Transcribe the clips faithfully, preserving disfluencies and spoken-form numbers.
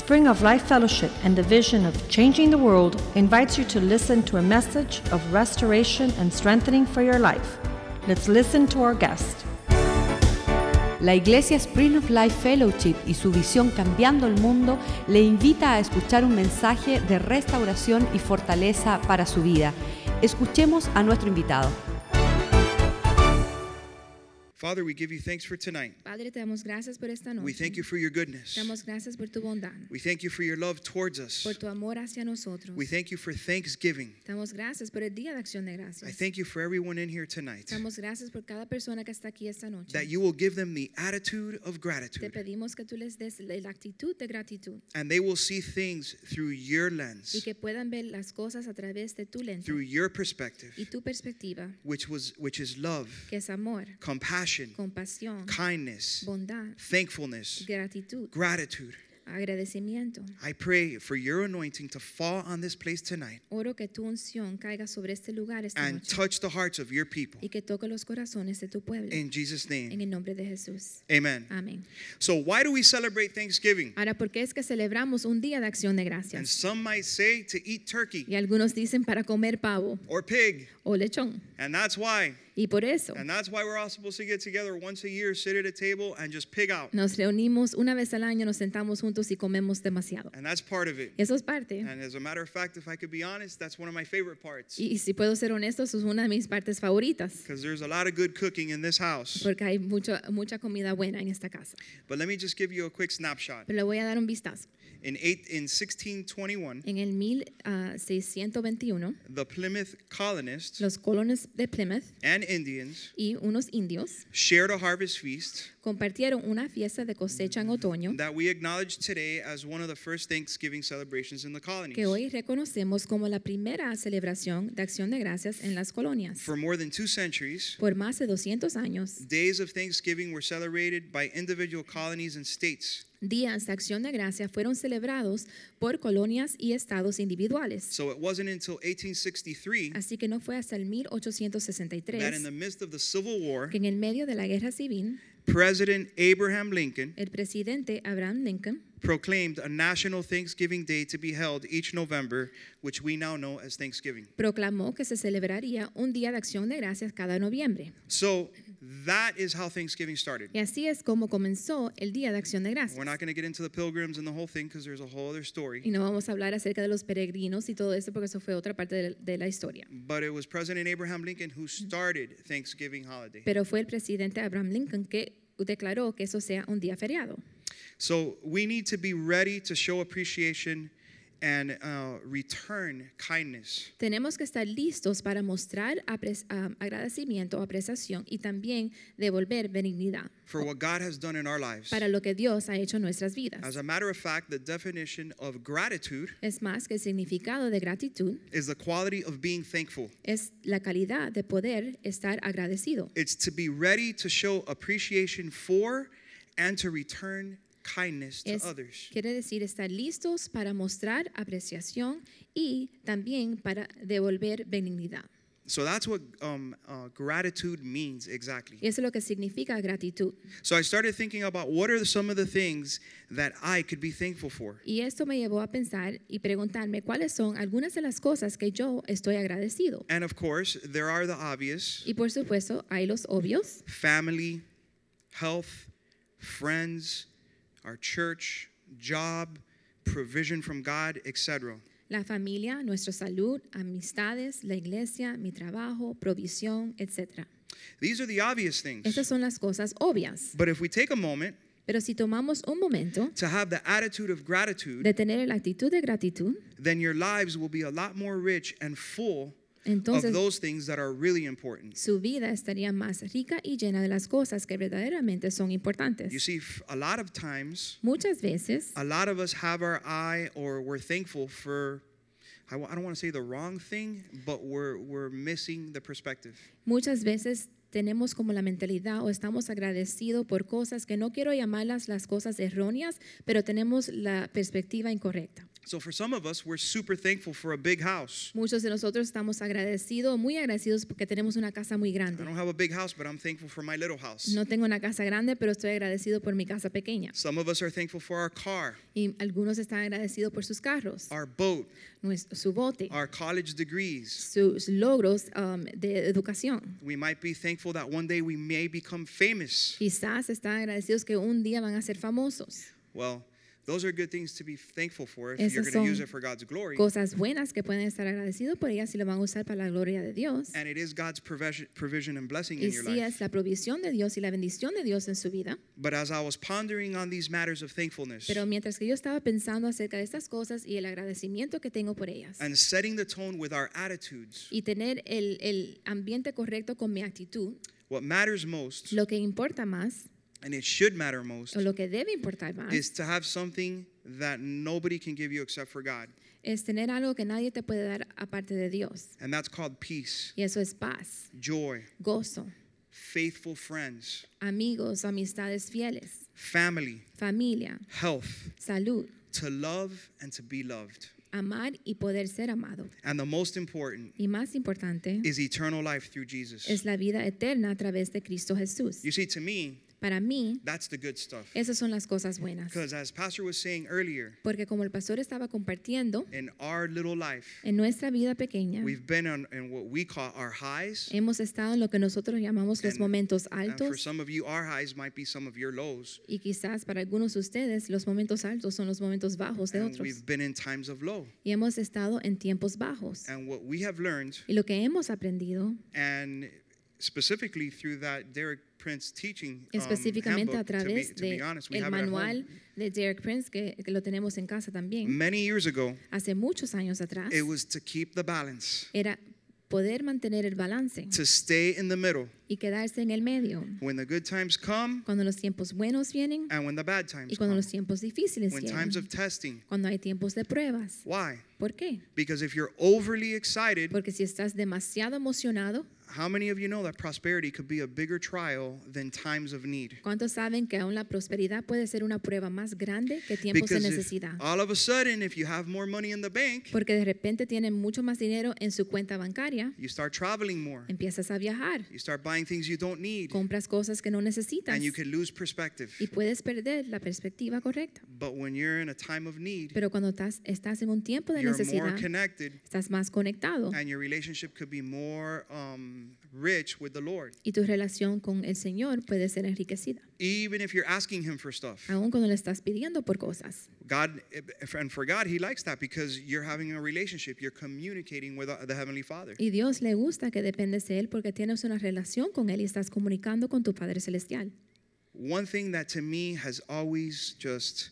Spring of Life Fellowship and the vision of changing the world invites you to listen to a message of restoration and strengthening for your life. Let's listen to our guest. La Iglesia Spring of Life Fellowship y su visión Cambiando el Mundo le invita a escuchar un mensaje de restauración y fortaleza para su vida. Escuchemos a nuestro invitado. Father, we give you thanks for tonight. Padre, te damos gracias por esta noche. We thank you for your goodness. Te damos gracias por tu bondad. We thank you for your love towards us. Por tu amor hacia nosotros. We thank you for Thanksgiving. Te damos gracias por el día de acción de gracias. I thank you for everyone in here tonight. Te damos gracias por cada persona que está aquí esta noche. That you will give them the attitude of Te gratitude. pedimos que tú les des la actitud de gratitud. And they will see things through your lens. Y que puedan ver las cosas a través de tu lente. Through your perspective. Y tu perspectiva. Which was which is love. Que es amor. Compassion. Compasión. Kindness. Bondad. Thankfulness. Gratitud. Gratitude. Agradecimiento. I pray for your anointing to fall on this place tonight. Oro que tu unción caiga sobre este lugar esta and noche. touch the hearts of your people. Y que toque los corazones de tu pueblo. In Jesus' name. En el nombre de Jesús. Amen. Amén. So why do we celebrate Thanksgiving? Ahora, ¿por qué es que celebramos un día de acción de And gracias? some might say to eat turkey Y algunos dicen para comer pavo or pig. o lechón. And that's why. Y por eso And that's why we're all supposed to get together once a year, sit at a table and just pig out. nos reunimos una vez al año, nos sentamos juntos y comemos demasiado. And that's part of it. Y eso es parte. And as a matter of fact, if I could be honest, that's one of my favorite parts. Y, y si puedo ser honesto, eso es una de mis partes favoritas. Because there's a lot of good cooking in this house. Porque hay mucho, mucha comida buena en esta casa. But let me just give you a quick snapshot. Pero le voy a dar un vistazo. In, eight, in sixteen twenty-one, En el mil seiscientos veintiuno, the Plymouth colonists los colonos de Plymouth and Indians y unos indios shared a harvest feast compartieron una fiesta de cosecha en otoño that we acknowledge today as one of the first Thanksgiving celebrations in the colonies. que hoy reconocemos como la primera celebración de acción de gracias en las colonias. For more than two centuries, Por más de doscientos años, days of Thanksgiving were celebrated by individual colonies and states. días de acción de gracia fueron celebrados por colonias y estados individuales. So it wasn't until eighteen sixty-three Así que no fue hasta el mil ochocientos sesenta y tres that in the midst of the Civil War, que en el medio de la guerra civil, President Abraham Lincoln el presidente Abraham Lincoln proclaimed a national Thanksgiving Day to be held each November, which we now know as Thanksgiving. proclamó que se celebraría un día de acción de gracias cada noviembre. So that is how Thanksgiving started. Y así es como comenzó el día de acción de gracias. We're not going to get into the pilgrims and the whole thing because there's a whole other story. Y no vamos a hablar acerca de los peregrinos y todo eso porque eso fue otra parte de, de la historia. But it was President Abraham Lincoln who started Thanksgiving holiday. Pero fue el presidente Abraham Lincoln que declaró que eso sea un día feriado. So we need to be ready to show appreciation and uh, return kindness. Tenemos que estar listos para mostrar apre- um, agradecimiento, apreciación y también devolver benignidad For what God has done in our lives. para lo que Dios ha hecho en nuestras vidas. As a matter of fact, the definition of gratitude Es más que el significado de gratitud is the quality of being thankful. es la calidad de poder estar agradecido. It's to be ready to show appreciation for and to return kindness to Es, others. quiere decir estar listos para mostrar apreciación y también para devolver benignidad. So that's what um, uh, gratitude means exactly. Y eso es lo que significa gratitud. So I started thinking about what are some of the things that I could be thankful for. Y esto me llevó a pensar y preguntarme cuáles son algunas de las cosas que yo estoy agradecido. And of course, there are the obvious: Y por supuesto, hay los obvios, family, health, friends, our church, job, provision from God, et cetera. la familia, nuestra salud, amistades, la iglesia, mi trabajo, provisión, etcétera. These are the obvious things. Estas son las cosas obvias. But if we take a moment Pero si tomamos un momento to have the attitude of gratitude, de tener la actitud de gratitud, then your lives will be a lot more rich and full of entonces those things that are really important. su vida estaría más rica y llena de las cosas que verdaderamente son You importantes. see, f- a lot of times, Muchas veces, a lot of us have our eye or we're thankful for, I w- I don't want to say the wrong thing, but we're, we're missing the perspective. muchas veces tenemos como la mentalidad o estamos agradecidos por cosas que no quiero llamarlas las cosas erróneas, pero tenemos la perspectiva incorrecta. So for some of us, we're super thankful for a big house. Muchos de nosotros estamos agradecidos, muy agradecidos porque tenemos una casa muy I grande. don't have a big house, but I'm thankful for my little house. No tengo una casa grande, pero estoy agradecido por mi casa pequeña. Some of us are thankful for our car, Y algunos están agradecidos por sus carros, our boat, nues- su bote, our college degrees. sus logros um, de educación. We might be thankful that one day we may become famous. Quizás están agradecidos que un día van a ser famosos. Well, those are good things to be thankful for if Esas you're going son to use it for God's glory. Cosas buenas que pueden estar agradecidos por ellas si lo van a usar para la gloria de Dios. And it is God's provision, provision and blessing Y in your sí life. es la provisión de Dios y la bendición de Dios en su vida. But as I was pondering on these matters of thankfulness Pero mientras que yo estaba pensando acerca de estas cosas y el agradecimiento que tengo por ellas and setting the tone with our attitudes, y tener el, el ambiente correcto con mi actitud, what matters most, lo que importa más and it should matter most, o lo que debe importar más is to have something that nobody can give you except for God. es tener algo que nadie te puede dar aparte de Dios. And that's called peace, Y eso es paz, joy, gozo, faithful friends, amigos, amistades fieles, family, familia, health, salud, to love and to be loved. amar y poder ser amado. And the most important Y más importante is eternal life through Jesus. es la vida eterna a través de Cristo Jesús. You see, to me, Para mí, that's the good stuff. esas son las cosas buenas. Because as Pastor was saying earlier, Porque como el pastor estaba compartiendo, in our little life, en nuestra vida pequeña, we've been on, in what we call our highs. hemos estado en lo que nosotros llamamos los And- momentos And for altos. some of you, our highs might be some of your lows. Y quizás para algunos de ustedes los momentos altos son los momentos bajos de And otros. we've been in times of low. Y hemos estado en tiempos bajos. And what we have learned, Y lo que hemos aprendido, and specifically through that Derek Prince teaching um, específicamente a handbook, to be, través to be de honest, we el have it at manual home. de Derek Prince, que, que lo tenemos en casa también, Many years ago, hace muchos años atrás, it was to keep the balance, era poder mantener el balance to stay in the middle y quedarse en el medio. when the good times come Cuando los tiempos buenos vienen and when the bad times y cuando come. los tiempos difíciles When vienen. times of testing. Cuando hay tiempos de pruebas. Why? ¿Por qué? Because if you're overly excited, Porque si estás demasiado emocionado, how many of you know that prosperity could be a bigger trial than times of need? ¿cuántos saben que aún la prosperidad puede ser una prueba más grande que tiempos de Because if, necesidad? all of a sudden, if you have more money in the bank, Porque de repente tienen mucho más dinero en su cuenta bancaria, you start traveling more. empiezas a viajar, You start buying things you don't need, compras cosas que no necesitas and you can lose perspective. y puedes perder la perspectiva correcta. But when you're in a time of need, Pero cuando estás, estás en un tiempo de you're more necesidad, connected, estás más conectado and your relationship could be more um, rich with the Lord. y tu relación con el Señor puede ser enriquecida. Even if you're asking Him for stuff. Aún cuando le estás pidiendo por cosas. God, and for God, He likes that because you're having a relationship. You're communicating with the Heavenly Father. Y Dios le gusta que dependes de Él porque tienes una relación con Él y estás comunicando con tu Padre Celestial. One thing that to me has always just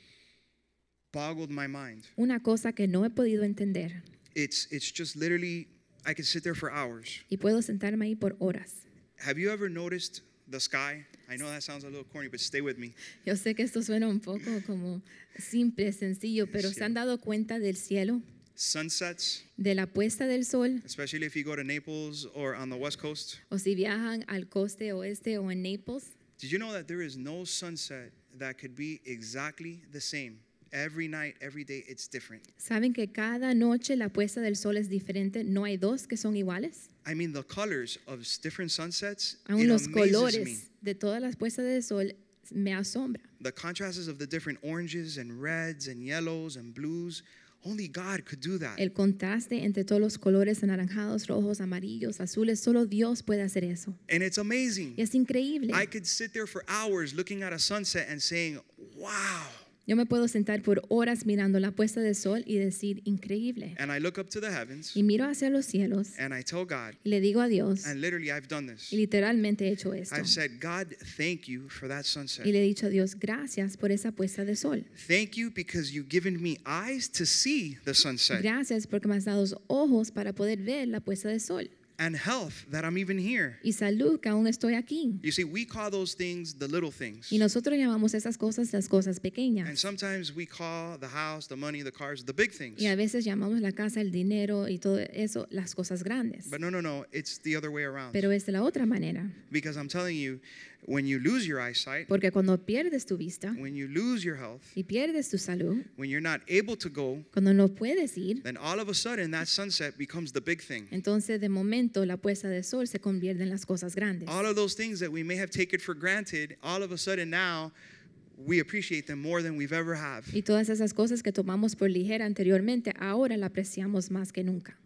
boggled my mind. Una cosa que no he podido entender It's it's just literally I could sit there for hours. y puedo sentarme ahí por horas. Have you ever noticed the sky? I know that sounds a little corny, but stay with me. Yo sé que esto suena un poco como simple, sencillo, pero Sí. ¿se han dado cuenta del cielo? Sunsets, De la puesta del sol, especially if you go to Naples or on the West Coast. o si viajan al coste oeste o en Naples. Did you know that there is no sunset that could be exactly the same? Every night, every day, it's different. ¿Saben que cada noche la puesta del sol es diferente? No hay dos que son iguales. I mean, the colors of s- different sunsets, Aún it los amazes me. colores de todas las puestas del sol me asombra. The contrasts of the different oranges and reds and yellows and blues, only God could do that. El contraste entre todos los colores anaranjados, rojos, amarillos, azules, solo Dios puede hacer eso. And it's amazing. Y es increíble. I could sit there for hours looking at a sunset and saying, wow. Yo me puedo sentar por horas mirando la puesta del sol y decir, increíble. And I look up to the heavens Y miro hacia los cielos and I tell God, y le digo a Dios, and literally I've done this. y literalmente he hecho esto. I've said, God, thank you for that Y sunset. le he dicho a Dios, gracias por esa puesta de sol. Thank you because you've given me eyes to see the sunset Gracias porque me has dado ojos para poder ver la puesta de sol. and health that I'm even here. Y salud que aún estoy aquí. You see, we call those things the little things. Y nosotros llamamos esas cosas las cosas And pequeñas. sometimes we call the house, the money, the cars, the big things. Y a veces llamamos la casa, el dinero y todo eso las cosas grandes. But no, no, no, it's the other way around. Pero es de la otra manera. Because I'm telling you, When you lose your eyesight, Porque cuando pierdes tu vista when you lose your health, y pierdes tu salud, when you're not able to go, cuando no puedes ir, then all of a sudden that sunset becomes the big thing. entonces de momento la puesta de sol se convierte en las cosas grandes. All of those things that we may have taken for granted, all of a sudden now we appreciate them more than we've ever have. Y todas esas cosas que tomamos por ligera anteriormente, ahora la apreciamos más que nunca.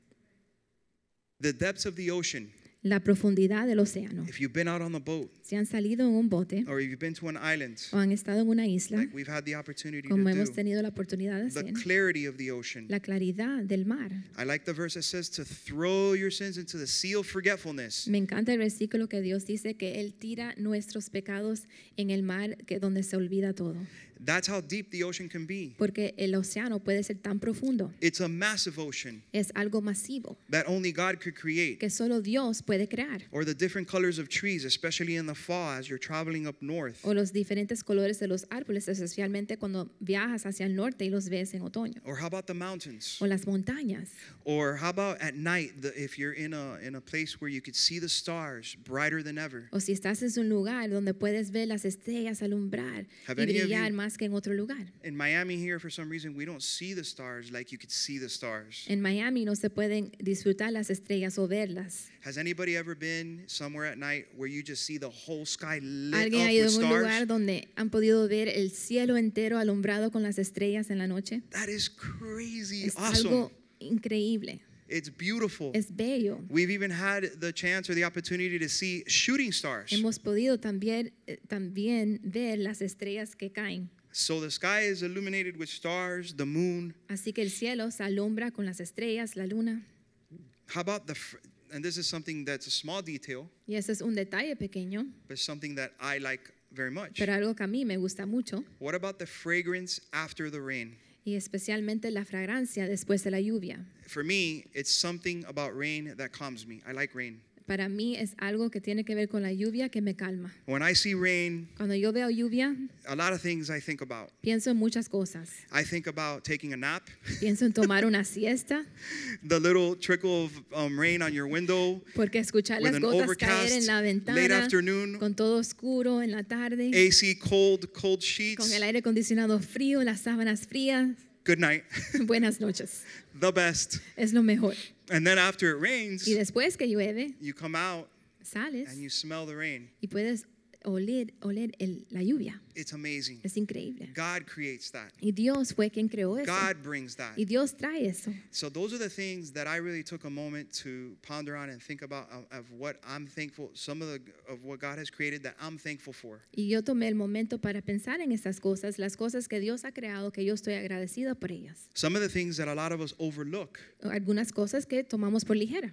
The depths of the ocean, La profundidad del océano. if you've been out on the boat Si han salido en un bote or if you've been to an island, o han estado en una isla, like we've had the opportunity to como hemos do, tenido la oportunidad de the hacer, clarity of the ocean. la claridad del mar. I like the verse that says to throw your sins into the sea of forgetfulness. Me encanta el versículo que Dios dice que Él tira nuestros pecados en el mar que donde se olvida todo. That's how deep the ocean can be. Porque el océano puede ser tan profundo. It's a massive ocean Es algo masivo that only God could create. que solo Dios puede crear. Or the different colors of trees, especially in the fall as you're traveling up north. O los diferentes colores de los árboles, especialmente cuando viajas hacia el norte y los ves en otoño. Or how about the mountains? O las montañas. Or how about at night, the, if you're in a in a place where you could see the stars brighter than ever? O si estás en un lugar donde puedes ver las estrellas alumbrar Have y any of brillar you- más que en otro lugar. In Miami here, for some reason, we don't see the stars like you could see the stars. En Miami no se pueden disfrutar las estrellas o verlas. Has anybody ever been somewhere at night where you just see the whole sky lit ¿Alguien ha up ido with en un lugar stars? donde han podido ver el cielo entero alumbrado con las estrellas en la noche? That is crazy Es awesome. algo increíble. It's beautiful. Es bello. We've even had the chance or the opportunity to see shooting stars. Hemos podido también, eh, también ver las estrellas que caen. So the sky is illuminated with stars, the moon. Así que el cielo se alumbra con las estrellas, la luna. How about the, fr- and this is something that's a small detail, Y ese es un detalle pequeño, but something that I like very much. pero algo que a mí me gusta mucho. What about the fragrance after the rain? Y especialmente la fragancia después de la lluvia. For me, it's something about rain that calms me. I like rain. Para mí es algo que tiene que ver con la lluvia que me calma. When I see rain, Cuando yo veo lluvia, a lot of things I think about. pienso en muchas cosas. I think about taking a nap, Pienso en tomar una siesta, the little trickle of um, rain on your window, porque escuchar with las an gotas caer en overcast la late ventana, afternoon, con todo oscuro en la tarde, A C cold, cold con sheets. el aire acondicionado frío, las sábanas frías. Good night. Buenas noches. The best. Es lo mejor. And then after it rains, Y después que llueve, you come out sales and you smell the rain. y puedes oler, oler el- la lluvia. It's amazing. Es increíble. God creates that. Y Dios fue quien creó eso. God brings that. Y Dios trae eso. So those are the things that I really took a moment to ponder on and think about of, of what I'm thankful, some of the of what God has created that I'm thankful for. Y yo tomé el momento para pensar en estas cosas, las cosas que Dios ha creado, que yo estoy agradecida por ellas. Some of the things that a lot of us overlook. Algunas cosas que tomamos por ligera.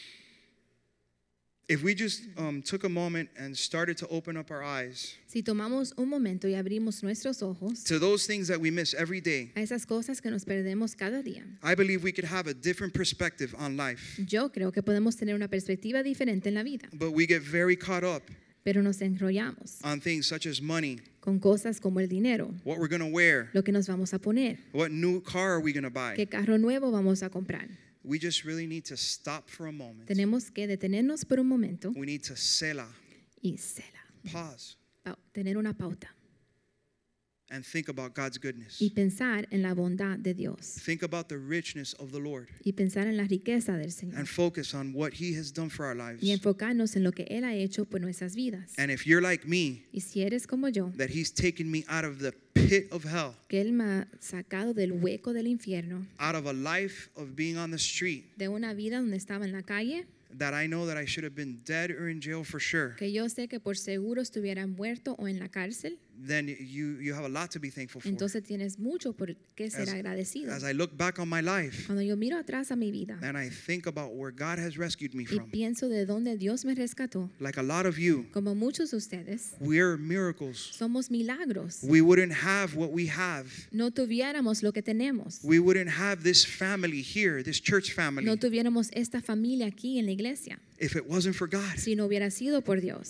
If we just um, took a moment and started to open up our eyes Si tomamos un momento y abrimos nuestros ojos to those things that we miss every day, a esas cosas que nos perdemos cada día, I believe we could have a different perspective on life. yo creo que podemos tener una perspectiva diferente en la vida, But we get very caught up pero nos enrollamos on things such as money, con cosas como el dinero, what we're going to wear, lo que nos vamos a poner, what new car are we going to buy. qué carro nuevo vamos a comprar. We just really need to stop for a moment. Tenemos que detenernos por un momento We need to selah, y cela, pause, pau- tener una pauta and think about God's goodness. y pensar en la bondad de Dios Think about the richness of the Lord y pensar en la riqueza del Señor and focus on what He has done for our lives. y enfocarnos en lo que Él ha hecho por nuestras vidas. And if you're like me, Y si eres como yo, that He's taken me out of the pit of hell, que Él me ha sacado del hueco del infierno, out of a life of being on the street, de una vida donde estaba en la calle, that I know that I should have been dead or in jail for sure, que yo sé que por seguro estuviera muerto o en la cárcel, then you, you have a lot to be thankful for. entonces tienes mucho por qué ser As, agradecido. as I look back on my life Cuando yo miro atrás a mi vida and I think about where God has rescued me y from, pienso de dónde Dios me rescató, like a lot of you, como muchos de ustedes, we're miracles. somos milagros. We wouldn't have what we have. No tuviéramos lo que tenemos. We wouldn't have this family here, this church family, No tuviéramos esta familia aquí en la iglesia if it wasn't for God. si no hubiera sido por Dios.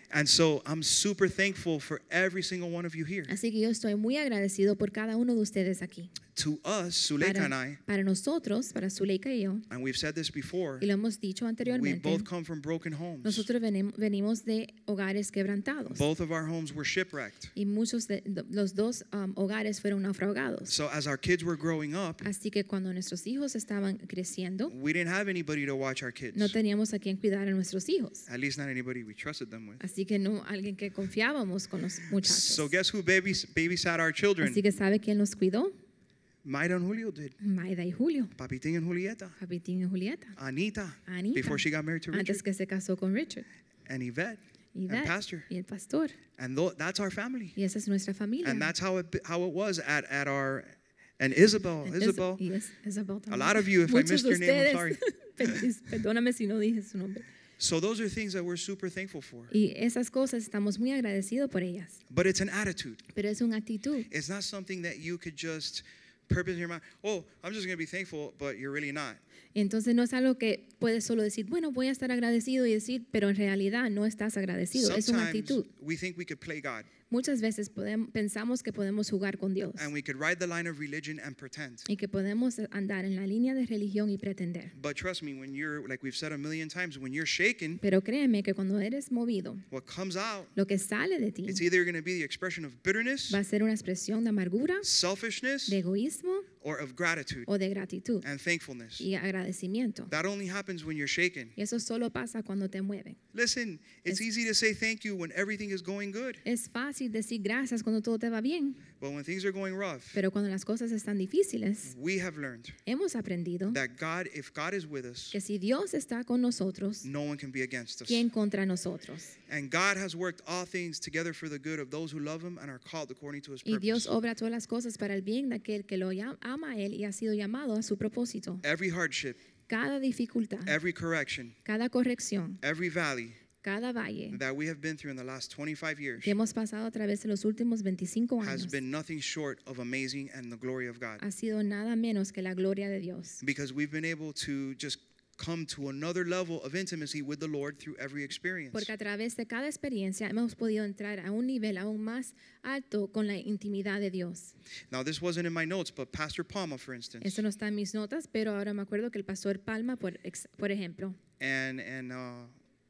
And so I'm super thankful for every single one of you here. Así que yo estoy muy agradecido por cada uno de ustedes aquí. To us, Suleika and Para, I, para nosotros, para Zuleika y yo, and we've said this before, y lo hemos dicho we anteriormente, both come from broken homes. nosotros venim- venimos de hogares quebrantados. Both of our homes were shipwrecked. Y muchos de de los dos um, hogares fueron naufragados. So as our kids were growing up, Así que cuando nuestros hijos estaban creciendo, we didn't have anybody to watch our kids. no teníamos a quien cuidar a nuestros hijos. At least not anybody we trusted them with. Así que no alguien que confiábamos con los muchachos. So guess who babys, babysat our children? Así que ¿sabe quién los cuidó? Maida and Julio did. Maida y Julio, Papitín and Julieta. Papitín y Julieta, Anita, Anita, before she got married to Richard. antes que se casó con Richard, And Yvette. y And Beth, Pastor. y el pastor. And th- that's our family. Y esa es nuestra familia. And that's how it, how it was at, at our, and Isabel, Es- Isabel. y es- Isabel A también. lot of you, if I Muchos missed de your name, I'm ustedes, sorry. per- Perdóname si no dije su nombre. So those are things that we're super thankful for. Y esas cosas estamos muy agradecidos por ellas. But it's an attitude. Pero es una actitud. It's not something that you could just purpose in your mind. Oh, I'm just going to be thankful, but you're really not. Entonces no es algo que puedes solo decir, bueno, voy a estar agradecido y decir, pero en realidad no estás agradecido. Es una Sometimes actitud. we think we could play God Muchas veces podemos, pensamos que podemos jugar con Dios and we could ride the line of religion and pretend. y que podemos andar en la línea de religión y pretender. But trust me, when you're, like we've said a million times, when you're shaken, Pero créeme que cuando eres movido, what comes out, lo que sale de ti it's either going to be the expression of bitterness, va a ser una expresión de amargura, selfishness, de egoísmo or of gratitude o de gratitud and thankfulness. y agradecimiento. That only happens when you're shaken. Y eso solo pasa cuando te mueven. Listen, it's Es- easy to say thank you when everything is going good. Es fácil decir gracias cuando todo te va bien, But when things are going rough, pero cuando las cosas están difíciles, we have learned hemos aprendido that God, if God is with us, que si Dios está con nosotros, no one can be against us. ¿quién contra nosotros? And God has worked all things together for the good of those who love him and are called according to his Y Dios purpose. obra todas las cosas para el bien de aquel que lo llam- ama a Él y ha sido llamado a su propósito. Every hardship, Cada dificultad, every correction, cada corrección, every valley cada valle that we have been through in the last twenty-five years que hemos pasado a través de los últimos veinticinco has años been nothing short of amazing and the glory of God. ha sido nada menos que la gloria de Dios. Because we've been able to just come to another level of intimacy with the Lord through every experience. Porque a través de cada experiencia hemos podido entrar a un nivel aún más alto con la intimidad de Dios. Now, this wasn't in my notes, but Pastor Palma, for instance, Eso no está en mis notas, pero ahora me acuerdo que el pastor Palma, por, ex- por ejemplo, and and uh,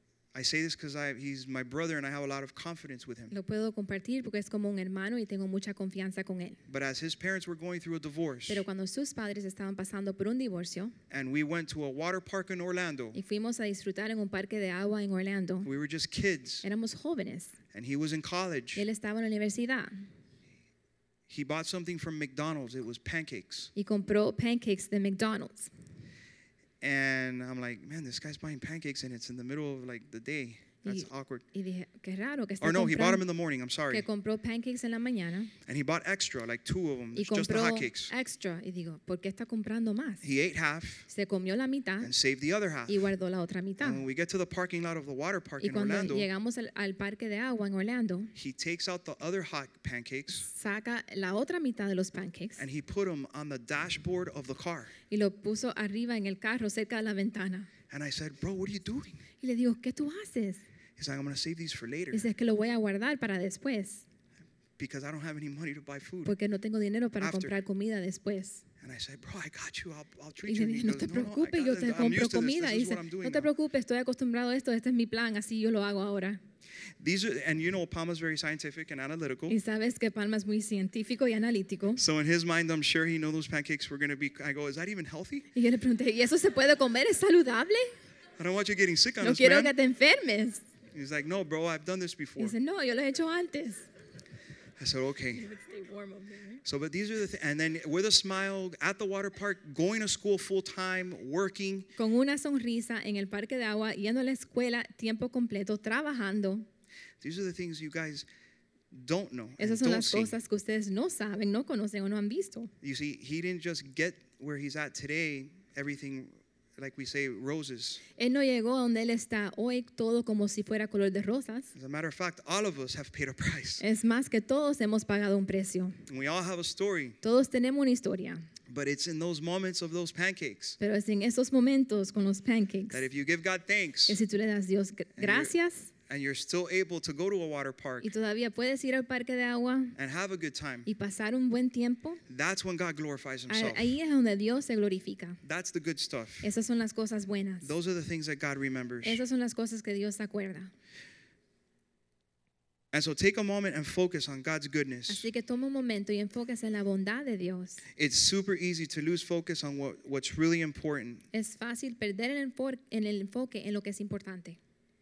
I say this because I he's my brother and I have a lot of confidence with him. lo puedo compartir porque es como un hermano y tengo mucha confianza con él. But as his parents were going through a divorce, Pero cuando sus padres estaban pasando por un divorcio and we went to a water park in Orlando, y fuimos a disfrutar en un parque de agua en Orlando, we were just kids, éramos jóvenes. and he was in college. Él estaba en la universidad He bought something from McDonald's. It was pancakes. y compró pancakes de McDonald's. And I'm like, man, this guy's buying pancakes and it's in the middle of like the day. That's Y, awkward. y dije, qué raro que está Or no, he bought them comprando, in the morning. I'm sorry. que compró pancakes en la mañana And he bought extra, like two of them, y just the compró hotcakes. extra. Y digo, ¿por qué está comprando más? He ate half Se comió la mitad and saved the other half. y guardó la otra mitad. And when we get to the parking lot of the water park Y in cuando Orlando, llegamos al, al parque de agua en Orlando, he takes out the other hot pancakes saca la otra mitad de los pancakes and he put them on the dashboard of the car. y lo puso arriba en el carro cerca de la ventana. And I said, bro, what are you doing? Y le digo, ¿qué tú haces? He's like, I'm going to save these for later Dice, es que lo voy a guardar para después, because I don't have any money to buy food. porque no tengo dinero para After. comprar comida después. And I said, bro, I got you. I'll, I'll Y treat le you. And dije, he no goes, te no, no, I preocupes, got yo it. te I'm compro used to this. comida. This Y is dice, what I'm doing no te now." preocupes, estoy acostumbrado a esto, este es mi plan, así yo lo hago ahora. These are, and you know, Palma's very scientific and analytical. Y sabes que Palma es muy científico y analítico. So in his mind, I'm sure he knows those pancakes were going to be. I go, is that even healthy? Y yo le pregunté, ¿y eso se puede comer? ¿Es saludable? I don't want you getting sick on No us, quiero que man. te enfermes. He's like, no, bro, I've done this Y before. dice, no, yo lo he hecho antes. I said, okay. So, but these are the things. And then with a smile at the water park, going to school full time, working. Con una sonrisa en el parque de agua, yendo a la escuela tiempo completo, trabajando. These are the things you guys don't know and Esas son don't las see. cosas que ustedes no saben, no conocen o no han visto. You see, he didn't just get where he's at today, everything, like we say, roses. Él no llegó a donde él está hoy todo como si fuera color de rosas. As a matter of fact, all of us have paid a price. Es más que todos hemos pagado un precio. And we all have a story. Todos tenemos una historia. But it's in those moments of those pancakes Pero es en esos momentos con los pancakes that if you give God thanks que si tú le das a Dios gr- gracias and you're still able to go to a water park y todavía puedes ir al parque de agua and have a good time, y pasar un buen tiempo, that's when God glorifies a- himself. ahí es donde Dios se glorifica. That's the good stuff. Esas son las cosas buenas. Those are the things that God remembers. Esas son las cosas que Dios se acuerda. And so take a moment and focus on God's goodness. Así que toma un momento y enfóquese en la bondad de Dios. It's super easy to lose focus on what, what's really important. Es fácil perder el, enfor- en el enfoque en lo que es importante.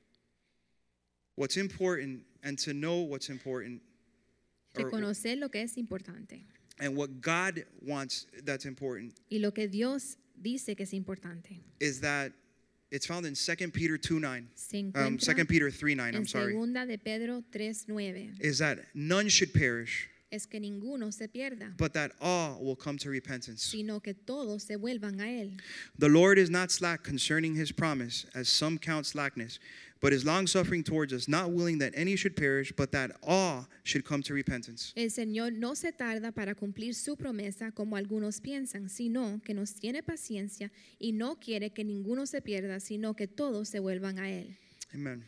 What's important and to know what's important. or- Reconocer lo que es importante and what God wants that's important y lo que Dios dice que es importante. is that it's found in Second Peter two nine. Se Um, encuentra Second Peter three nine, I'm en sorry. segunda de Pedro tres nueve. Is that none should perish, Es que ninguno se pierda, but that all will come to repentance. sino que todos se vuelvan a él. The Lord is not slack concerning his promise, as some count slackness, but is longsuffering towards us, not willing that any should perish, but that all should come to repentance. El Señor no se tarda para cumplir su promesa como algunos piensan, sino que nos tiene paciencia y no quiere que ninguno se pierda, sino que todos se vuelvan a él. Amen.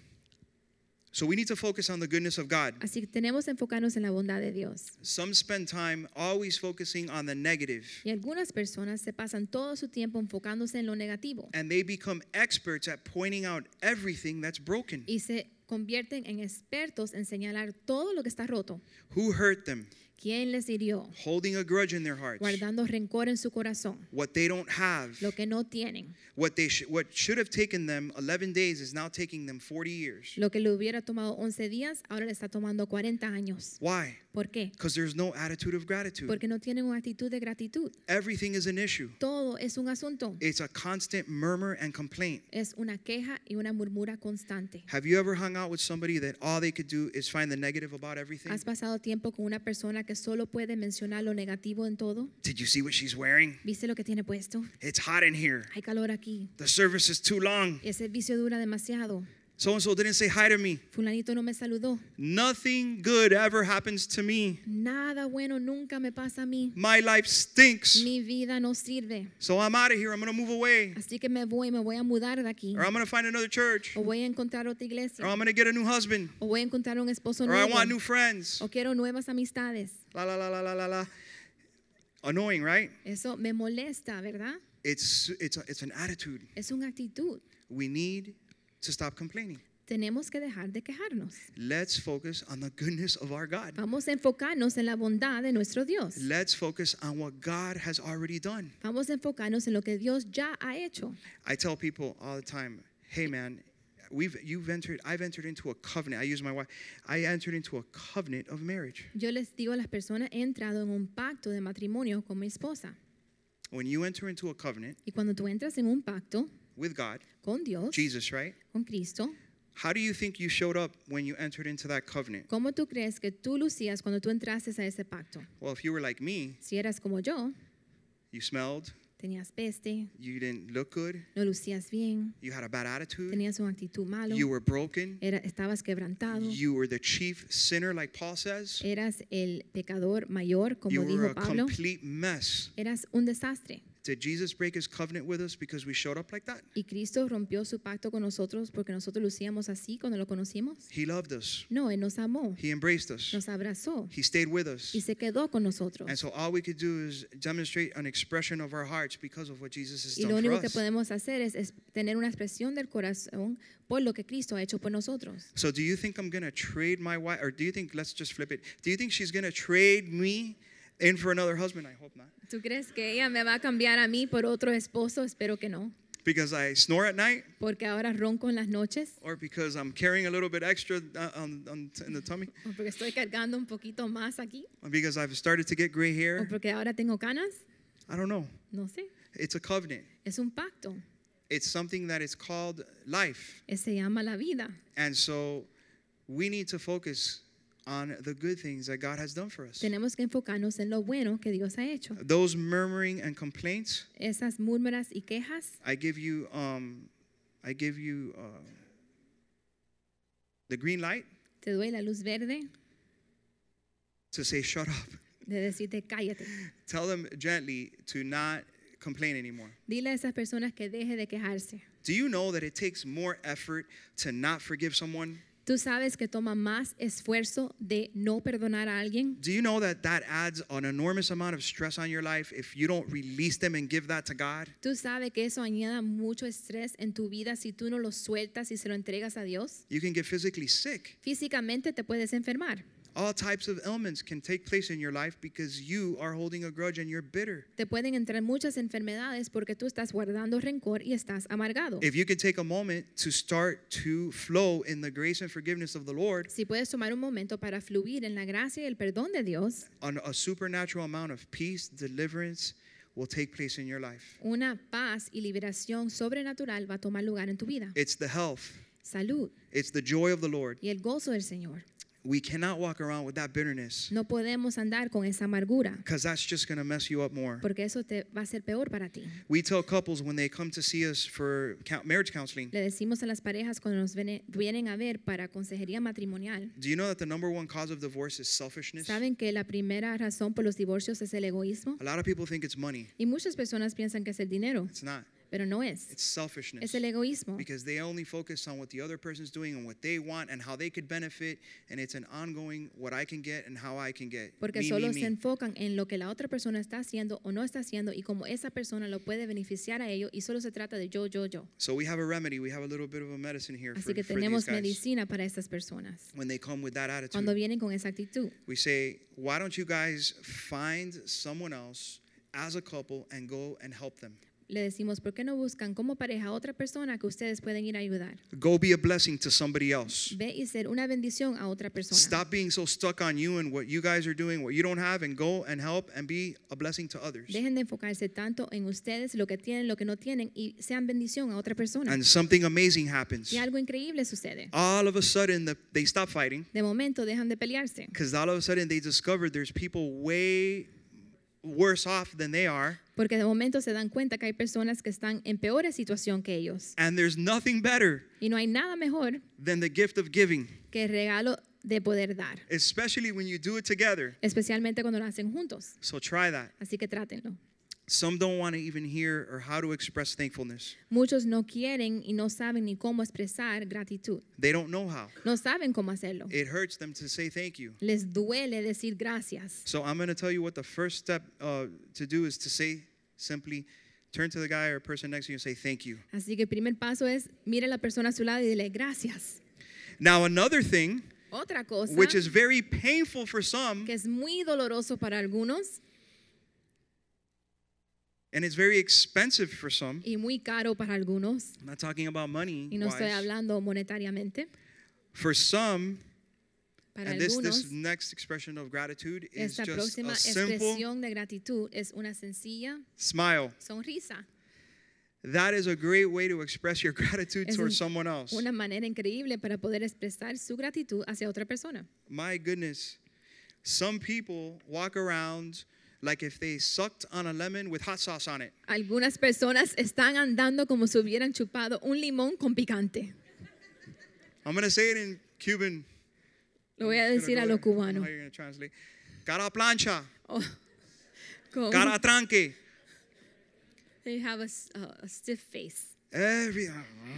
So we need to focus on the goodness of God. Así que tenemos que enfocarnos en la bondad de Dios. Some spend time always focusing on the negative, Y algunas personas se pasan todo su tiempo enfocándose en lo negativo and they become experts at pointing out everything that's broken. y se convierten en expertos en señalar todo lo que está roto. Who hurt them? ¿Quién les hirió? Holding a grudge in their hearts. Guardando rencor en su corazón. What they don't have. Lo que no tienen. What they sh- what should have taken them eleven days is now taking them forty years. Lo que le hubiera tomado once días, ahora le está tomando cuarenta años. Why? ¿Por qué? Because there's no attitude of gratitude. Porque no tienen una actitud de gratitud. Everything is an issue. Todo es un asunto. It's a constant murmur and complaint. Es una queja y una murmura constante. Have you ever hung out with somebody that all they could do is find the negative about everything? ¿Has pasado tiempo con una persona que solo puede mencionar lo negativo en todo? Did you see what she's wearing? ¿Viste lo que tiene puesto? It's hot in here. Hay calor aquí. The service is too long. Ese servicio dura demasiado. So and so didn't say hi to me. Fulanito no me saludó. Nothing good ever happens to me. Nada bueno nunca me pasa a mí. My life stinks. Mi vida no sirve. So I'm out of here. I'm going to move away. Así que me voy, me voy a mudar de aquí. Or I'm going to find another church. O voy a encontrar otra iglesia. Or I'm going to get a new husband. O voy a encontrar un esposo Or I nuevo. want new friends. O quiero nuevas amistades. La la la la la la la. Annoying, right? Eso me molesta, ¿verdad? It's it's a, it's an attitude. Es una actitud. We need to stop complaining. Tenemos que dejar de quejarnos. Let's focus on the goodness of our God. Vamos a enfocarnos en la bondad de nuestro Dios. Let's focus on what God has already done. Vamos a enfocarnos en lo que Dios ya ha hecho. I tell people all the time, hey man, we've you've entered I've entered into a covenant. I use my wife. I entered into a covenant of marriage. Yo les digo a las personas, he entrado en un pacto de matrimonio con mi esposa. When you enter into a covenant Y cuando tú entras en un pacto with God, con Dios, Jesus, right? con Cristo, How do you think you showed up when you entered into that covenant? ¿cómo tú crees que tú lucías cuando tú entraste a ese pacto? Well, if you were like me, Si eras como yo, you smelled, tenías peste, you didn't look good, no lucías bien, you had a bad attitude, tenías una actitud malo, you were broken, era, estabas quebrantado, you were the chief sinner, like Paul says, eras el pecador mayor, como you were dijo a Pablo, complete mess. eras un desastre. Did Jesus break his covenant with us because we showed up like that? ¿Y Cristo rompió su pacto con nosotros porque nosotros lucíamos así cuando lo conocimos? He loved us. No, Él nos amó, He embraced us. nos abrazó He stayed with us. y se quedó con nosotros. And so all we could do is demonstrate an expression of our hearts because of what Jesus has Y lo done for único que us. podemos hacer es, es tener una expresión del corazón por lo que Cristo ha hecho por nosotros. So do you think I'm going to trade my wife, or do you think, let's just flip it, do you think she's going to trade me in for another husband? I hope not. ¿Tú crees que ella me va a cambiar a mí por otro esposo? Espero que no. Because I snore at night, Porque ahora ronco en las noches or because I'm carrying a little bit extra uh, on, on, in the tummy, o porque estoy cargando un poquito más aquí or because I've started to get gray o hair. porque ahora tengo canas. I don't know. No sé. It's a covenant. Es un pacto. It's something that is called life. Eh, Se llama la vida. And so we need to focus on the good things that God has done for us. Tenemos que enfocarnos en lo bueno que Dios ha hecho. Those murmuring and complaints, Esas murmuras y quejas, I give you, um, I give you uh, the green light te doy la luz verde to say, shut up. de decirte cállate. Tell them gently to not complain anymore. Dile a esas personas que deje de quejarse. Do you know that it takes more effort to not forgive someone ¿Tú sabes que toma más esfuerzo de no perdonar a alguien? Do you know that that adds an enormous amount of stress on your life if you don't release them and give that to God? ¿Tú sabes que eso añade mucho estrés en tu vida si tú no lo sueltas y se lo entregas a Dios? You can get physically sick. Físicamente te puedes enfermar. All types of ailments can take place in your life because you are holding a grudge and you're bitter. Te pueden entrar muchas enfermedades porque tú estás guardando rencor y estás amargado. If you can take a moment to start to flow in the grace and forgiveness of the Lord, Si puedes tomar un momento para fluir en la gracia y el perdón de Dios, an- a supernatural amount of peace, deliverance will take place in your life. una paz y liberación sobrenatural va a tomar lugar en tu vida. It's the health, Salud it's the joy of the Lord. y el gozo del Señor. We cannot walk around with that bitterness No podemos andar con esa amargura because that's just going to mess you up more. porque eso te va a ser peor para ti. We tell couples when they come to see us for count- marriage counseling, Le decimos a las parejas cuando nos viene- vienen a ver para consejería matrimonial, do you know that the number one cause of divorce is selfishness? ¿saben que la primera razón por los divorcios es el egoísmo? A lot of people think it's money. Y muchas personas piensan que es el dinero, It's not. pero no es. It's selfishness. Es el egoísmo. Because they only focus on what the other person's doing and what they want and how they could benefit, and it's an ongoing what I can get and how I can get. Porque Me, solo me, se me. enfocan en lo que la otra persona está haciendo o no está haciendo y cómo esa persona lo puede beneficiar a ellos y solo se trata de yo, yo, yo. So we have a remedy. We have a little bit of a medicine here Así for, que for tenemos these guys. medicina para estas personas. When they come with that attitude, Cuando vienen con esa actitud, we say, why don't you guys find someone else as a couple and go and help them? le decimos, ¿por qué no buscan como pareja a otra persona que ustedes pueden ir a ayudar? Go be a blessing to somebody else. Ve y ser una bendición a otra persona. Stop being so stuck on you and what you guys are doing, what you don't have, and go and help and be a blessing to others. Dejen de enfocarse tanto en ustedes, lo que tienen, lo que no tienen, y sean bendición a otra persona. And something amazing happens. Y algo increíble sucede. All of a sudden, the, they stop fighting De momento dejan de pelearse. because all of a sudden they discovered there's people way worse off than they are. Porque de momento se dan cuenta que hay personas que están en peor situación que ellos. And there's nothing better Y no hay nada mejor than the gift of giving, que el regalo de poder dar. especially when you do it together. Especialmente cuando lo hacen juntos. So try that. Así que trátenlo. Some don't want to even hear or how to express thankfulness. Muchos no quieren y no saben ni cómo expresar gratitud. They don't know how. No saben cómo hacerlo. It hurts them to say thank you. Les duele decir gracias. So I'm going to tell you what the first step uh, to do is to say simply, turn to the guy or person next to you and say thank you. Así que el primer paso es, mire a la persona a su lado y dile gracias. Now another thing, Otra cosa which is very painful for some, que es muy doloroso para algunos and it's very expensive for some. y muy caro para algunos, I'm not talking about money y no estoy wise. hablando monetariamente, For some, para and this, algunos, this next expression of gratitude is esta just próxima a simple expresión de gratitud es una sencilla smile. sonrisa. That is a great way to express your gratitude Es towards un- someone else. Una manera increíble para poder expresar su gratitud hacia otra persona. My goodness, some people walk around like if they sucked on a lemon with hot sauce on it. Algunas personas están andando como si hubieran chupado un limón con picante. I'm going to say it in Cuban. Lo voy a I'm just decir gonna a go lo there. I don't know cubano. how you're going to translate. Cara plancha, Oh, con- cara tranque. They have a, s- a- a stiff face. Every,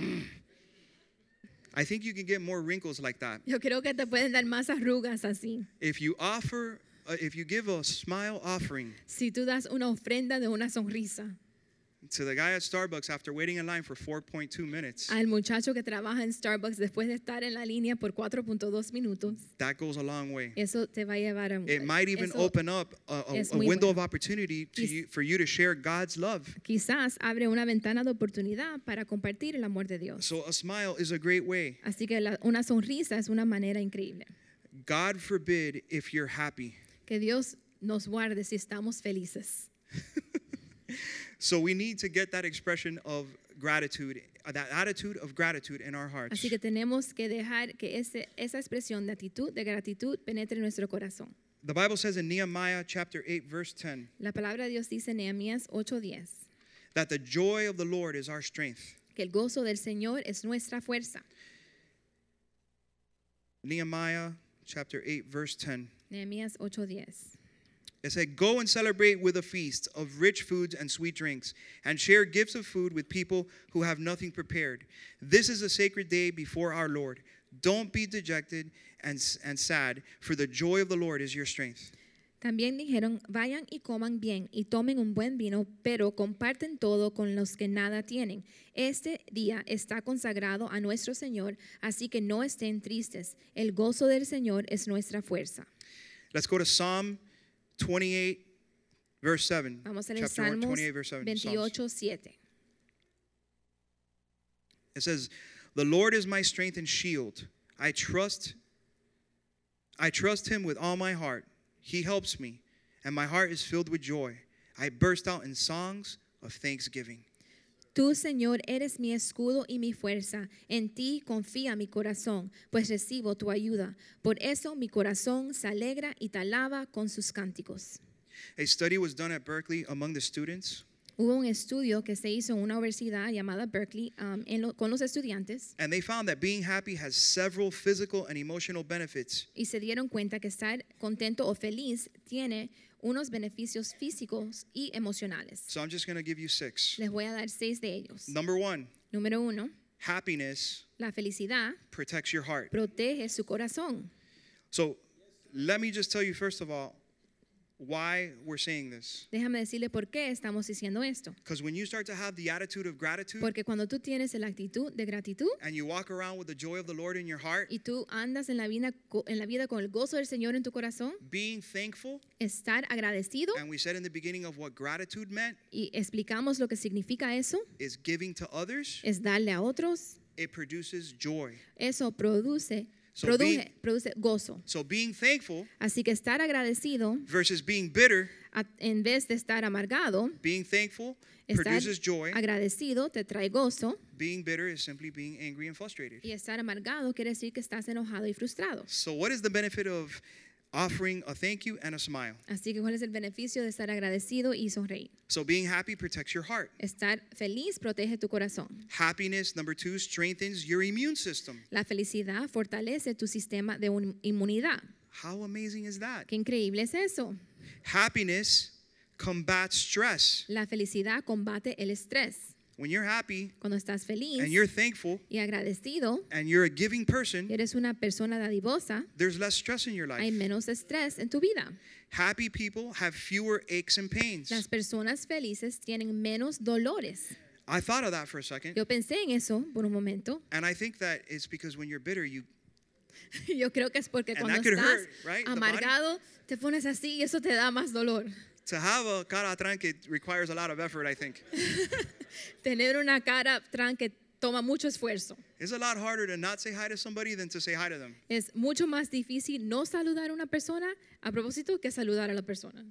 I think you can get more wrinkles like that. Yo creo que te pueden dar más arrugas así. If you offer, uh, if you give a smile offering Si tú das una ofrenda de una sonrisa to the guy at Starbucks after waiting in line for four point two minutes, al muchacho que trabaja en Starbucks después de estar en la línea por cuatro punto dos minutos, that goes a long way. eso te va a llevar a un... It might even eso open up a, a, es a muy window bueno. of opportunity to Quiz- you, for you to share God's love. Quizás abre una ventana de oportunidad para compartir el amor de Dios. So a smile is a great way. Así que la- una sonrisa es una manera increíble. God forbid if you're happy. Que Dios nos guarde si estamos felices. So we need to get that expression of gratitude, uh, that attitude of gratitude in our hearts. Así que tenemos que dejar que ese, esa expresión de actitud, de gratitud, penetre en nuestro corazón. The Bible says in Nehemiah chapter eight verse ten La palabra de Dios dice en Nehemías ocho diez that the joy of the Lord is our strength. que el gozo del Señor es nuestra fuerza. Nehemiah chapter eight verse ten. Nehemías ocho diez. It said, "Go and celebrate with a feast of rich foods and sweet drinks, and share gifts of food with people who have nothing prepared. This is a sacred day before our Lord. Don't be dejected and, and sad, for the joy of the Lord is your strength. También dijeron, vayan y coman bien y tomen un buen vino, pero comparten todo con los que nada tienen. Este día está consagrado a nuestro Señor, así que no estén tristes. El gozo del Señor es nuestra fuerza. Let's go to Psalm twenty-eight, verse seven. Vamos a leer Chapter Salmos twenty-eight, verse seven. Psalms. veintiocho, siete. It says, the Lord is my strength and shield. I trust, I trust him with all my heart. He helps me, and my heart is filled with joy. I burst out in songs of thanksgiving. Tú, Señor, eres mi escudo y mi fuerza. En ti confía mi corazón, pues recibo tu ayuda. Por eso mi corazón se alegra y te alaba con sus cánticos. A study was done at Berkeley among the students, Hubo un estudio que se hizo en una universidad llamada Berkeley um, en lo, con los estudiantes and they found that being happy has several physical and emotional benefits. y se dieron cuenta que estar contento o feliz tiene unos beneficios físicos y emocionales. So I'm just going to give you six. Les voy a dar seis de ellos. Number one, Número uno, happiness la felicidad protects your heart. protege su corazón. So let me just tell you, first of all, why we're saying this. Déjame decirle por qué estamos diciendo esto. Because when you start to have the attitude of gratitude Porque cuando tú tienes la actitud de gratitud and you walk around with the joy of the Lord in your heart, y tú andas en la vida, en la vida con el gozo del Señor en tu corazón, being thankful, estar agradecido, and we said in the beginning of what gratitude meant, y explicamos lo que significa eso, is giving to others, es darle a otros, it produces joy. eso produce, So produce, being- produce gozo. So being thankful Así que estar agradecido, versus being bitter, a- en vez de estar amargado, being thankful estar produces joy. agradecido te trae gozo, Being bitter is simply being angry and frustrated. y estar amargado quiere decir que estás enojado y frustrado. So what is the benefit of offering a thank you and a smile? Así que ¿cuál es el beneficio de estar agradecido y sonreír? So being happy protects your heart. Estar feliz protege tu corazón. Happiness, number two, strengthens your immune system. La felicidad fortalece tu sistema de un- inmunidad. How amazing is that? Qué increíble es eso. Happiness combats stress. La felicidad combate el estrés. When you're happy Cuando estás feliz and you're thankful y agradecido, and you're a giving person, y eres una persona dadivosa, there's less stress in your hay life. menos estrés en tu vida. Happy people have fewer aches and pains. Las personas felices tienen menos dolores. I thought of that for a second, Yo pensé en eso por un momento. and I think that it's because when you're bitter, you Yo creo que es porque And cuando that could estás hurt, right? The body? amargado, te pones así y eso te da más dolor. to have a cara tranque requires a lot of effort, I think. Tener una cara tranque toma mucho esfuerzo. It's a lot harder to not say hi to somebody than to say hi to them. Es mucho más difícil no saludar a una persona a propósito que saludar a la persona.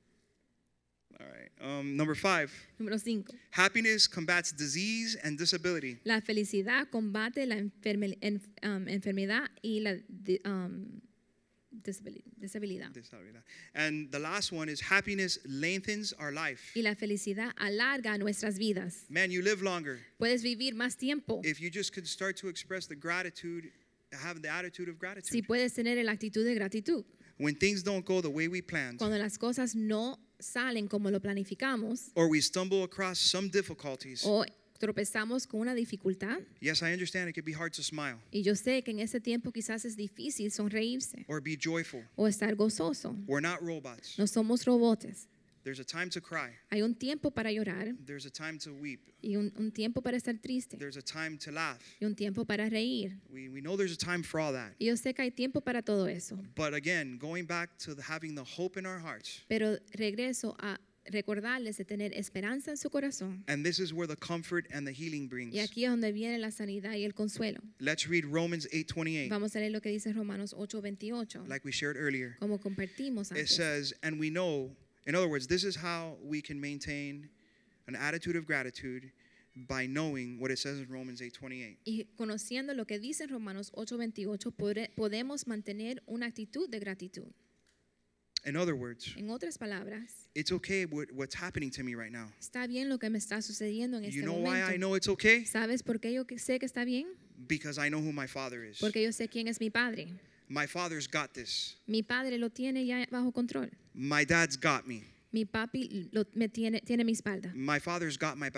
All right. Um, number five, Número cinco. happiness combats disease and disability. La felicidad combate la enferme- en- um, enfermedad y la di- um, disabili- disabilidad. Disability. And the last one is happiness lengthens our life. Y la felicidad alarga nuestras vidas. Man, you live longer. Puedes vivir más tiempo If you just could start to express the gratitude, have the attitude of si gratitude. puedes tener la actitud de gratitud. When things don't go the way we planned, Cuando las cosas no salen como lo planificamos or we stumble across some difficulties. o tropezamos con una dificultad, Yes, I understand it can be hard to smile y yo sé que en ese tiempo quizás es difícil sonreírse or be joyful. o estar gozoso. We're not robots. No somos robots. There's a time to cry. Hay un tiempo para llorar There's a time to weep. y un, un tiempo para estar triste There's a time to laugh. y un tiempo para reír. We, we know there's a time for all that. Y yo sé que hay tiempo para todo eso. But again, going back to the, having the hope in our hearts, Pero regreso a recordarles de tener esperanza en su corazón. and this is where the comfort and the healing brings. Y aquí es donde viene la sanidad y el consuelo. Let's read Romans eight twenty-eight, Vamos a leer lo que dice Romanos ocho veintiocho. like we shared earlier. Como compartimos It antes. says, and we know, in other words, this is how we can maintain an attitude of gratitude by knowing what it says in Romans eight twenty-eight. Y conociendo lo que dice en Romanos ocho veintiocho, pode- podemos mantener una actitud de gratitud. In other words, En otras palabras, it's okay what, what's happening to me right now. está bien lo que me está sucediendo en You este know why I momento. know it's okay? ¿Sabes por qué yo que- sé que está bien? Because I know who my father is. Porque yo sé quién es mi padre. My father's got this. Mi padre lo tiene ya bajo control. My dad's got me. Mi papi lo, me tiene, tiene mi espalda. My father's got my back.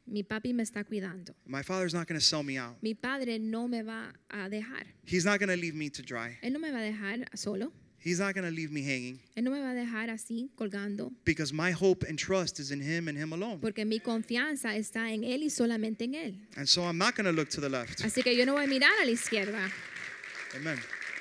Mi papi me está cuidando. My father's not going to sell me out. Mi padre no me va a dejar. He's not going to leave me to dry. Él no me va a dejar solo. He's not going to leave me hanging. Él no me va a dejar así colgando. Because my hope and trust is in him and him alone. Porque mi confianza está en él y solamente en él. And so I'm not going to look to the left. Así que yo no voy a mirar a la izquierda. Amen.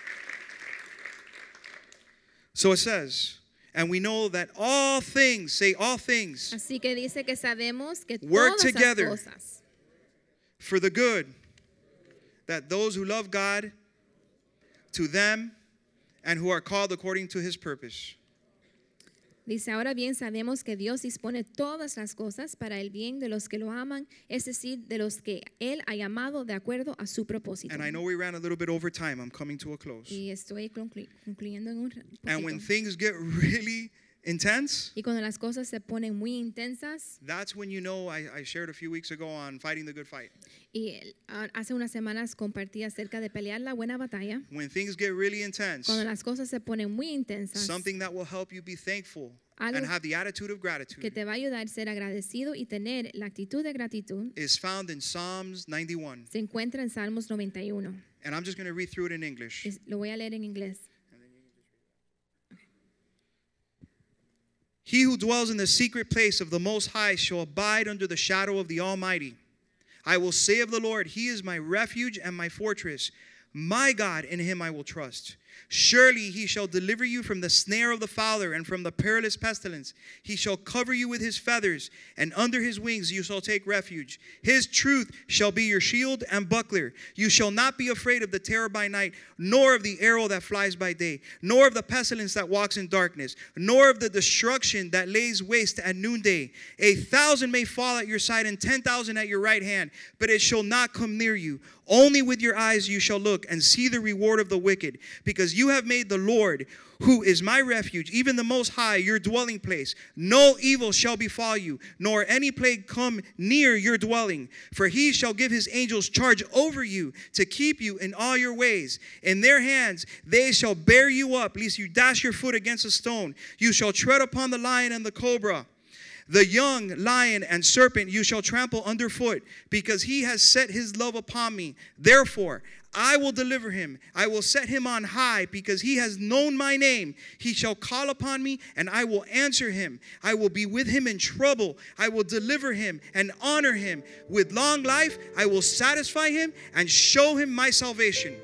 So it says, and we know that all things, say all things, Así que dice que sabemos que work todas together las cosas for the good, that those who love God, to them, and who are called according to his purpose. Dice, ahora bien sabemos que Dios dispone todas las cosas para el bien de los que lo aman, es decir, de los que Él ha llamado de acuerdo a su propósito. And I know we ran a little bit over time. I'm coming to a close. Y estoy conclu- concluyendo en un poquito. And when things get really intense, Y cuando las cosas se ponen muy intensas, that's when you know, I, I shared a few weeks ago on fighting the good fight. y ah, hace unas semanas compartí acerca de pelear la buena batalla. When things get really intense, Cuando las cosas se ponen muy intensas, something that will help you be thankful Algo and have the attitude of que gratitude te va a ayudar a ser agradecido y tener la actitud de gratitud is found in Psalms ninety-one. se encuentra en Salmos noventa y uno. And I'm just going to read through it in English. Es- Lo voy a leer en inglés. He who dwells in the secret place of the Most High shall abide under the shadow of the Almighty. I will say of the Lord, he is my refuge and my fortress. My God, in him I will trust. Surely he shall deliver you from the snare of the fowler and from the perilous pestilence. He shall cover you with his feathers, and under his wings you shall take refuge. His truth shall be your shield and buckler. You shall not be afraid of the terror by night, nor of the arrow that flies by day, nor of the pestilence that walks in darkness, nor of the destruction that lays waste at noonday. A thousand may fall at your side and ten thousand at your right hand, but it shall not come near you. Only with your eyes you shall look and see the reward of the wicked, because you have made the Lord, who is my refuge, even the Most High, your dwelling place. No evil shall befall you, nor any plague come near your dwelling. For he shall give his angels charge over you to keep you in all your ways. In their hands they shall bear you up, lest you dash your foot against a stone. You shall tread upon the lion and the cobra. The young lion and serpent you shall trample underfoot, because he has set his love upon me. Therefore, I will deliver him. I will set him on high, because he has known my name. He shall call upon me, and I will answer him. I will be with him in trouble. I will deliver him and honor him. With long life, I will satisfy him and show him my salvation.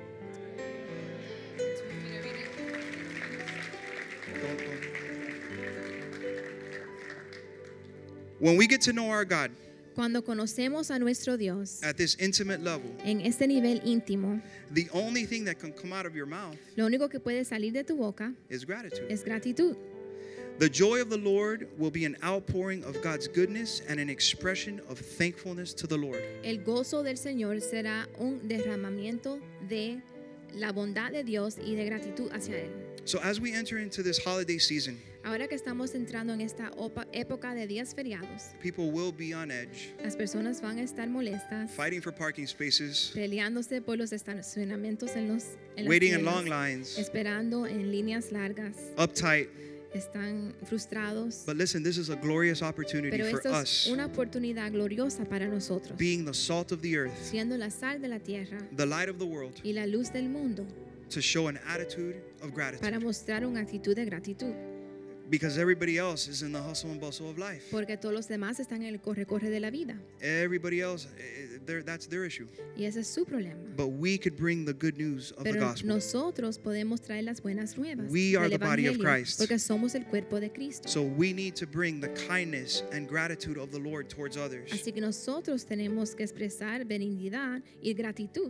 When we get to know our God Cuando conocemos a nuestro Dios at this intimate level, en este nivel íntimo, the only thing that can come out of your mouth lo único que puede salir de tu boca is gratitude. es gratitud. The joy of the Lord will be an outpouring of God's goodness and an expression of thankfulness to the Lord. El gozo del Señor será un derramamiento de la bondad de Dios y de gratitud hacia Él. So as we enter into this holiday season, Ahora que estamos entrando en esta opa- época de días feriados, people will be on edge, las personas van a estar molestas, fighting for parking spaces, peleándose por los estacionamientos en los en las waiting in tiendas, long lines, esperando en líneas largas, uptight. están frustrados. But listen, this is a glorious opportunity Pero for esto es us, una oportunidad gloriosa para nosotros, being the salt of the earth, siendo la sal de la tierra the light of the world, y la luz del mundo, to show an attitude of para gratitude. mostrar una actitud de gratitud, Because everybody else is in the hustle and bustle of life. porque todos los demás están en el corre-corre de la vida Everybody else, eh, they're- that's their issue. y ese es su problema. But we could bring the good news of the Pero gospel. nosotros podemos traer las buenas nuevas We are del the body of evangelio, Christ. porque somos el cuerpo de Cristo. So we need to bring the kindness and gratitude of the Lord towards others. Así que nosotros tenemos que expresar benignidad y gratitud,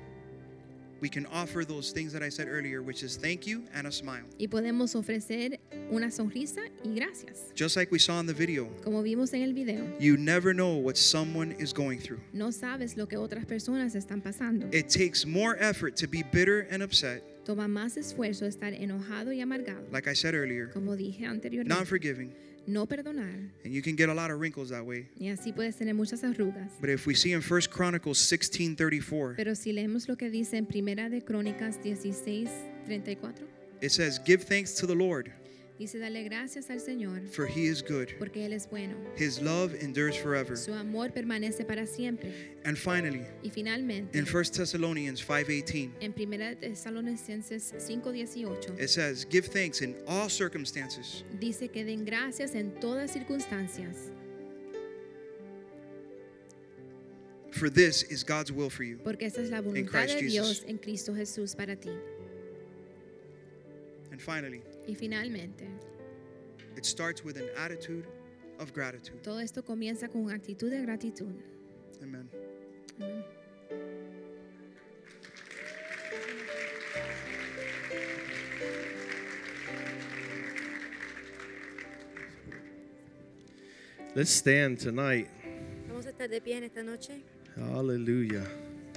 We can offer those things that I said earlier, which is thank you and a smile. y podemos ofrecer una sonrisa y gracias. Just like we saw in the video, Como vimos en el video, you never know what someone is going through. no sabes lo que otras personas están pasando. It takes more effort to be bitter and upset, Toma más esfuerzo estar enojado y amargado, like I said earlier, como dije anteriormente, not forgiving, no perdonar, and you can get a lot of wrinkles that way. y así puedes tener muchas arrugas. But if we see in First Chronicles sixteen thirty-four, Pero si leemos lo que dice en Primera de Crónicas dieciséis treinta y cuatro, it says, "Give thanks to the Lord, Dice, dale gracias al Señor, for he is good. porque Él es bueno. His love endures forever. Su amor permanece para siempre. And finally, Y finalmente, in First Thessalonians five eighteen, en Primera Tesalonicenses cinco dieciocho, it says, give thanks in all circumstances, dice que den gracias en todas circunstancias, for this is God's will for you. porque esta es la voluntad Christ de Jesus. Dios en Cristo Jesús para ti. And finally, Y finalmente, it starts with an attitude of gratitude. todo esto comienza con una actitud de gratitud. Amen. Amén. Let's stand tonight. Vamos a estar de pie en esta noche. Hallelujah.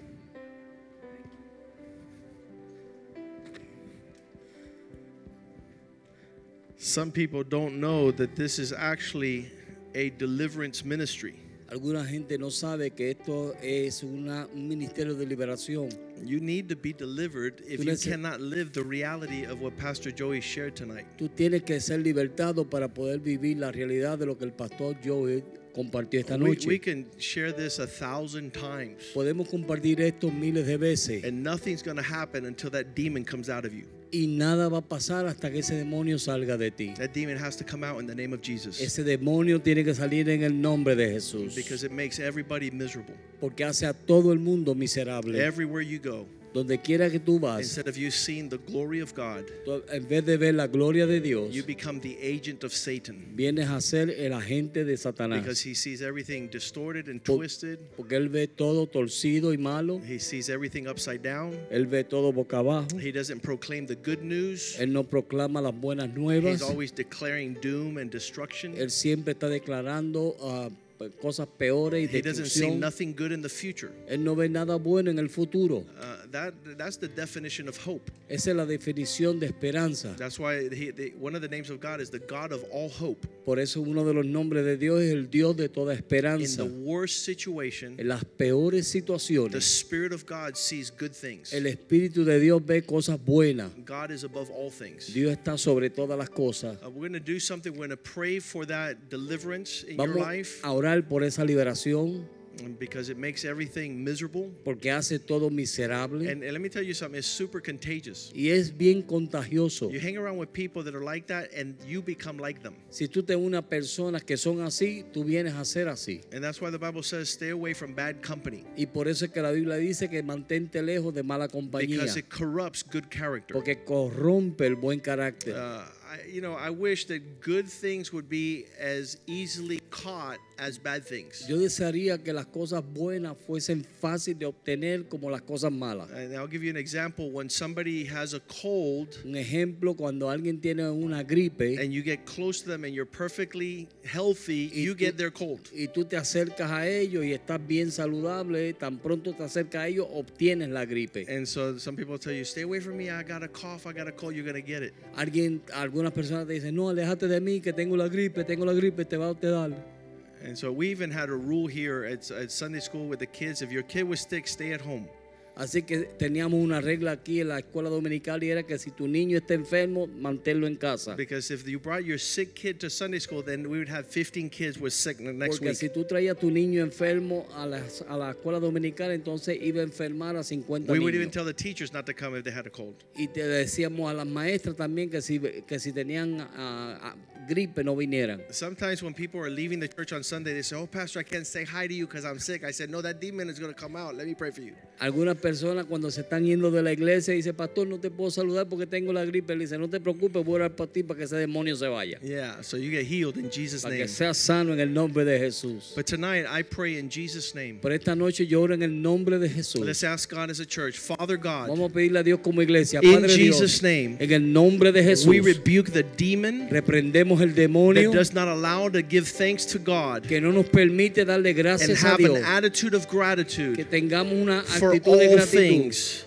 Some people don't know that this is actually a deliverance ministry. Alguna gente no sabe que esto es una, un ministerio de liberación. You need to be delivered if Tú you neces- cannot live the reality of what Pastor Joey shared tonight. Tú tienes que ser libertado para poder vivir la realidad de lo que el pastor Joey compartió esta We, noche. we can share this a thousand times, Podemos compartir esto miles de veces and nothing's going to happen until that demon comes out of you. y nada va a pasar hasta que ese demonio salga de ti. That demon has to come out in the name of Jesus, Ese demonio tiene que salir en el nombre de Jesús, because it makes everybody miserable. porque hace a todo el mundo miserable. Everywhere you go, Donde quiera que tú vas, instead of you seeing the glory of God, tú, en vez de ver la gloria de Dios, you become the agent of Satan, vienes a ser el agente de Satanás. because he sees everything distorted and Por- twisted. Porque él ve todo torcido y malo. He sees everything upside down. Él ve todo boca abajo. He doesn't proclaim the good news. Él no proclama las buenas He's nuevas. always declaring doom and destruction. Él siempre está declarando ah, cosas peores y He doesn't see destrucción. nothing good in the future. Él no ve nada bueno en el futuro. Uh, that that's the definition of hope. Esa es la definición de esperanza. That's why he, the, one of the names of God is the God of all hope. Por eso uno de los nombres de Dios es el Dios de toda In esperanza. the worst situation, En las peores the situaciones, Spirit of God sees good things. el Espíritu de Dios ve cosas buenas. God is above all things. Dios está sobre todas las cosas. Uh, we're going to do something. We're going to pray for that deliverance in your Vamos life, a orar por esa liberación um, because it makes everything miserable. porque hace todo miserable. And, and let me tell you something, it's super contagious. Y es bien contagioso. You hang around with people that are like that and you become like them. Si tú te unes a personas que son así, tú vienes a ser así. And that's why the Bible says stay away from bad company, Y por eso es que la Biblia dice que mantente lejos de mala compañía, because it corrupts good character. porque corrompe el buen carácter. Uh, I, you know, I wish that good things would be as easily caught as bad things. Yo desearía que las cosas buenas fuesen fáciles de obtener como las cosas malas. And I'll give you an example. When somebody has a cold Un ejemplo, cuando alguien tiene una gripe and you get close to them and you're perfectly healthy, Y you tú- get their cold. y tú te acercas a ellos y estás bien saludable, tan pronto te acercas a ellos, obtienes la gripe. And so some people tell you, stay away from me, I got a cough, I got a cold, you're going to get it. Alguien, algunas personas te dicen, no, aléjate de mí, que tengo la gripe, tengo la gripe, te va a te dar. And so we even had a rule here at, at Sunday school with the kids, if your kid was sick, stay at home. Así que teníamos una regla aquí en la escuela dominical y era que si tu niño está enfermo, manténlo en casa. Because if you brought your sick kid to Sunday school, then we would have fifteen kids with sick the next Porque week. si tú traías a tu niño enfermo a la, a la escuela dominical, entonces iba a enfermar a cincuenta We would even niños. tell the teachers not to come if they had a cold. Y te decíamos a las maestras también que si, que si tenían ah, ah, gripe no vinieran. Sometimes when people are leaving the church on Sunday, they say, oh, Pastor, I can't say hi to you because I'm sick. I said, no, that demon is going to come out. Let me pray for you. Algunas personas cuando se están yendo de la iglesia dicen, pastor, no te puedo saludar porque tengo la gripe. Él dice, no te preocupes, voy a orar por ti para que ese demonio se vaya. Yeah, so you get healed in Jesus' Para name. que seas sano en el nombre de Jesús. But tonight, I pray in Jesus' name. Por esta noche yo oro en el nombre de Jesús. Let's ask God as a church, Father God, Vamos a pedirle a Dios como iglesia, in Padre Jesus' Dios, name, en el nombre de Jesús, we rebuke the demon reprendemos el that demonio does not allow to give thanks to God que no nos permite darle and gracias a have Dios, an attitude of que gratitude tengamos una for actitud de all gratitud things.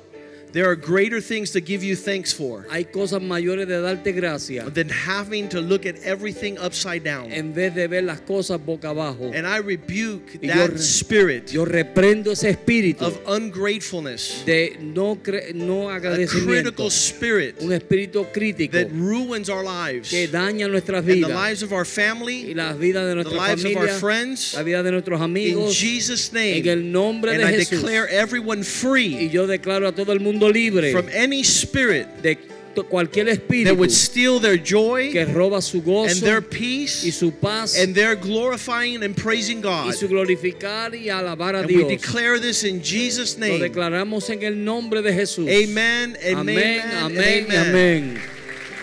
There are greater things to give you thanks for Hay cosas mayores de darte gracias than having to look at everything upside down. en vez de ver las cosas boca abajo. And I rebuke Y yo that re- spirit Yo reprendo ese espíritu of ungratefulness, de no, cre- no a agradecimiento, critical spirit un espíritu crítico that ruins our lives que daña nuestras and the vidas lives of our y family, las vidas de the nuestras lives of our familias, friends. la vida de nuestros In amigos, Jesus' en name. el nombre And de I Jesús. declare everyone Y free yo declaro a todo el mundo libre from any spirit de to- cualquier that espíritu would steal their joy que roba su and gozo their y peace su paz and their glorifying and praising y God. su glorificar y alabar a And we Dios. declare this in Jesus' Lo name. declaramos en el nombre de Jesús. Amen and Amén, amen and amén, y amen. amén.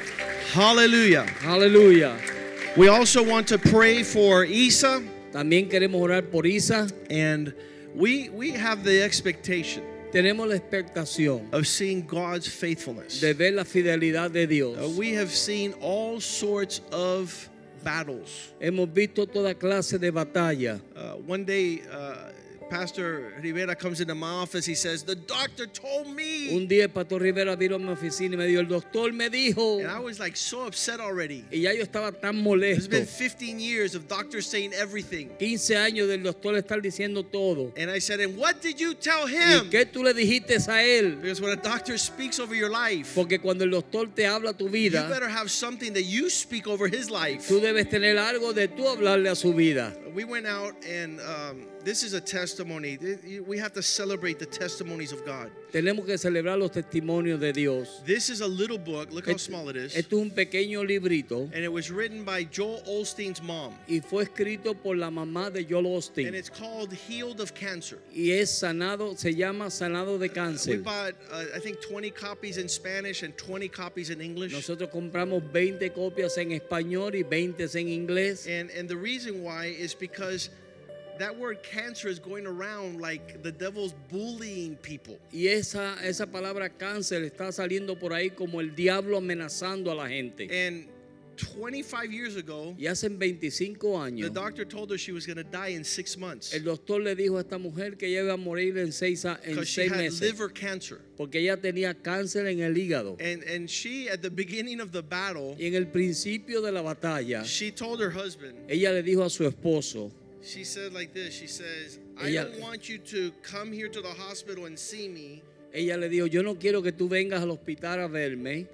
Hallelujah. Aleluya. We also want to pray for Isa, También queremos orar por Isa. and we we have the expectation Tenemos la expectación of seeing God's faithfulness. de ver la fidelidad de Dios. Uh, we have seen all sorts of battles. Hemos visto toda clase de batalla. Uh, one day, uh, Pastor Rivera comes into my office. He says, "The doctor told me," Un día el pastor Rivera vino a mi oficina y me dijo, el doctor me dijo, and I was like so upset already. y ya yo estaba tan It's molesto. been fifteen years of doctors saying everything, quince años del doctor estar diciendo todo. and I said, "And what did you tell ¿Y him?" qué tú le dijiste a él? Because when a doctor speaks over your life, Porque cuando el doctor te habla tu you vida, better have something that you speak over his life. tú debes tener algo de tú hablarle a su vida. We went out, and um, this is a testimony. We have to celebrate the testimonies of God. Tenemos que celebrar los testimonios de Dios. This is a little book. Look how Esto small it is. esto es un pequeño librito And it was written by Joel Osteen's mom. y fue escrito por la mamá de Joel And Osteen. it's called Healed of Cancer. Y es sanado, se llama Sanado de We Cáncer. bought, uh, I think, twenty copies in Spanish and twenty copies in English. Nosotros compramos veinte copias en español y veinte en inglés. And, and the reason why is because that word cancer is going around like the devil's bullying people. Y esa, esa palabra cáncer está saliendo por ahí como el diablo amenazando a la gente. And twenty-five years ago, Y hace veinticinco the años, doctor told her she was going to die in six months el doctor le dijo a esta mujer que ella iba a morir en seis, a- en because she seis had meses. liver cancer. Porque ella tenía cáncer en el hígado. And, and she, at the beginning of the battle, Y en el principio de la batalla, she told her husband, ella le dijo a su esposo, she said like this, she says, I Ella- don't want you to come here to the hospital and see me, ella le dijo, yo no quiero que tú vengas al hospital a verme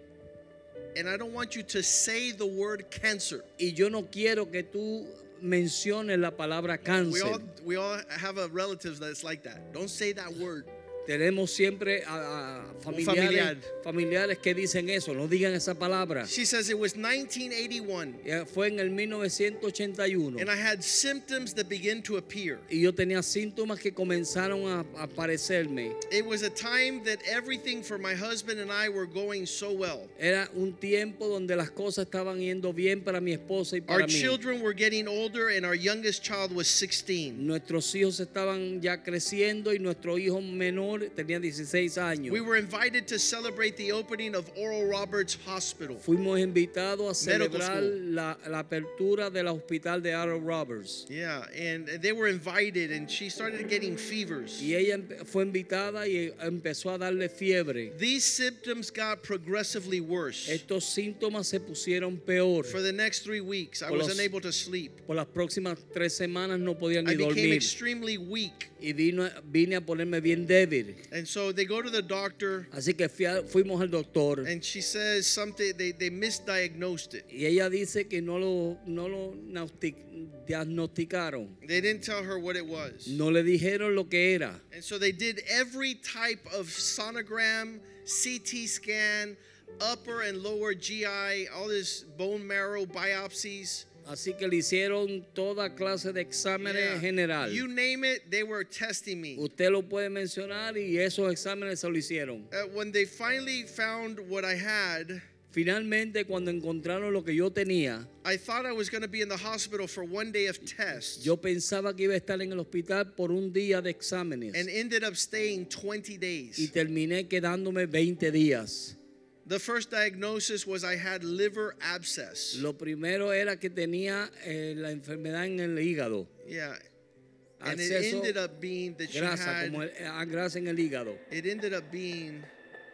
and I don't want you to say the word cancer. y yo no quiero que tú menciones la palabra We all, cáncer. we all have a relatives that's like that. Don't say that word. Tenemos siempre a, a familiares, familiar. familiares que dicen eso, no digan esa palabra. She says it was nineteen eighty-one, Ya fue en el mil novecientos ochenta y uno and I had symptoms that began to appear. y yo tenía síntomas que comenzaron a, a aparecerme. It was a time that everything for my husband and I were going so well. Era un tiempo donde las cosas estaban yendo bien para mi esposa y para Our mí. children were getting older, and our youngest child was sixteen. Nuestros hijos estaban ya creciendo y nuestro hijo menor tenía dieciséis años. We were invited to celebrate the opening of Oral Roberts Hospital. Fuimos invitados a Medical celebrar school. la, la apertura del hospital de Oral Roberts. Yeah, and they were invited, and she started getting fevers. Y ella empe- fue invitada y empezó a darle fiebre. These symptoms got progressively worse. Estos síntomas se pusieron peor. For the next three weeks, I Por was los- unable to sleep. Por las próximas tres semanas no podía I ni became dormir. extremely weak. Y vino, vine a ponerme bien débil. And so they go to the doctor, Así que fui a- fuimos al doctor. and she says something, they, they misdiagnosed it. Y ella dice que no lo, no lo nauti- diagnosticaron. They didn't tell her what it was. No le dijeron lo que era. And so they did every type of sonogram, C T scan, upper and lower G I, all this bone marrow biopsies. Así que le hicieron toda clase de exámenes Yeah. general. You name it, they were testing me. Usted lo puede mencionar y esos exámenes se lo hicieron. Uh, when they finally found what I had, Finalmente, cuando encontraron lo que yo tenía, I thought I was going to be in the hospital for one day of tests, yo pensaba que iba a estar en el hospital por un día de exámenes and ended up staying twenty y days. terminé quedándome veinte días. The first diagnosis was I had liver abscess. Lo primero era que tenía eh, la enfermedad en el hígado, Yeah. And it acceso ended up being that she grasa, had, como el- ah, grasa en el hígado. it ended up being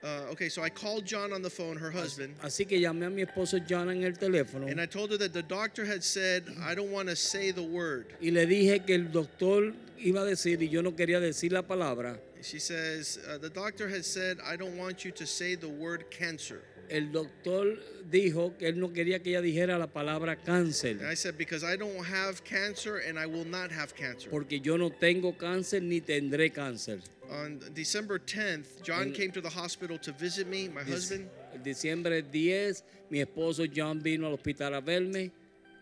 Uh, okay, so I called John on the phone, her husband, Así que llamé a mi esposo John en el teléfono and I told her that the doctor had said, I don't want to say the word. y le dije que el doctor iba a decir y yo no quería decir la palabra. She says, uh, the doctor has said, I don't want you to say the word cancer. El doctor dijo que él no quería que ella dijera la palabra cáncer. And I said, because I don't have cancer and I will not have cancer. Porque yo no tengo cáncer ni tendré cáncer. On December tenth, John En- came to the hospital to visit me, my Dic- husband, El diciembre diez, mi esposo John vino al hospital a verme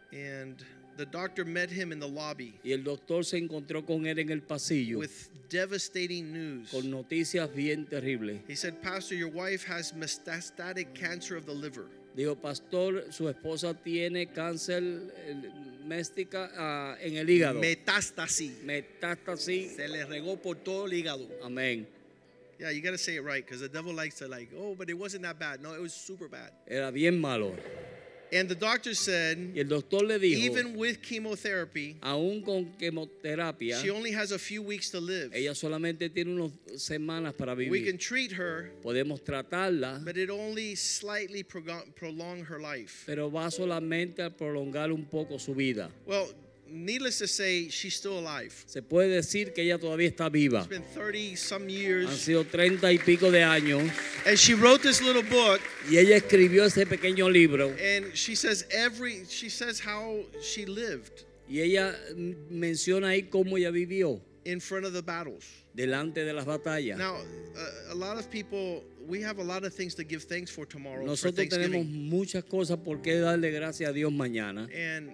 and the doctor met him in the lobby y el doctor se encontró con él en el pasillo with devastating news. con noticias bien terribles. He said, Pastor, your wife has metastatic cancer of the liver. Dijo, pastor, su esposa tiene cáncer eh, méstica ah, en el hígado. Metástasis. Metástasis. Se le regó por todo el hígado. Amén. Yeah, you got to say it right because the devil likes to like, oh, but it wasn't that bad. No, it was super bad. Era bien malo. And the doctor said, Y el doctor le dijo, even with chemotherapy, aún con quimioterapia, she only has a few weeks to live. ella solamente tiene unas semanas para We vivir. can treat her, Podemos tratarla, but it only slightly prog- prolong her life. pero va solamente a prolongar un poco su vida. Well, needless to say, she's still alive. Se puede decir que ella todavía está viva. It's been thirty some Han years. sido treinta y pico de años And she wrote this little book, y ella escribió ese pequeño libro and she says every she says how she lived y ella mm, menciona ahí cómo ella vivió in front of the battles. delante de las batallas. Now, uh, a lot of people, we have a lot of things to give thanks for tomorrow for Nosotros tenemos Thanksgiving. muchas cosas por qué darle gracias a Dios mañana. And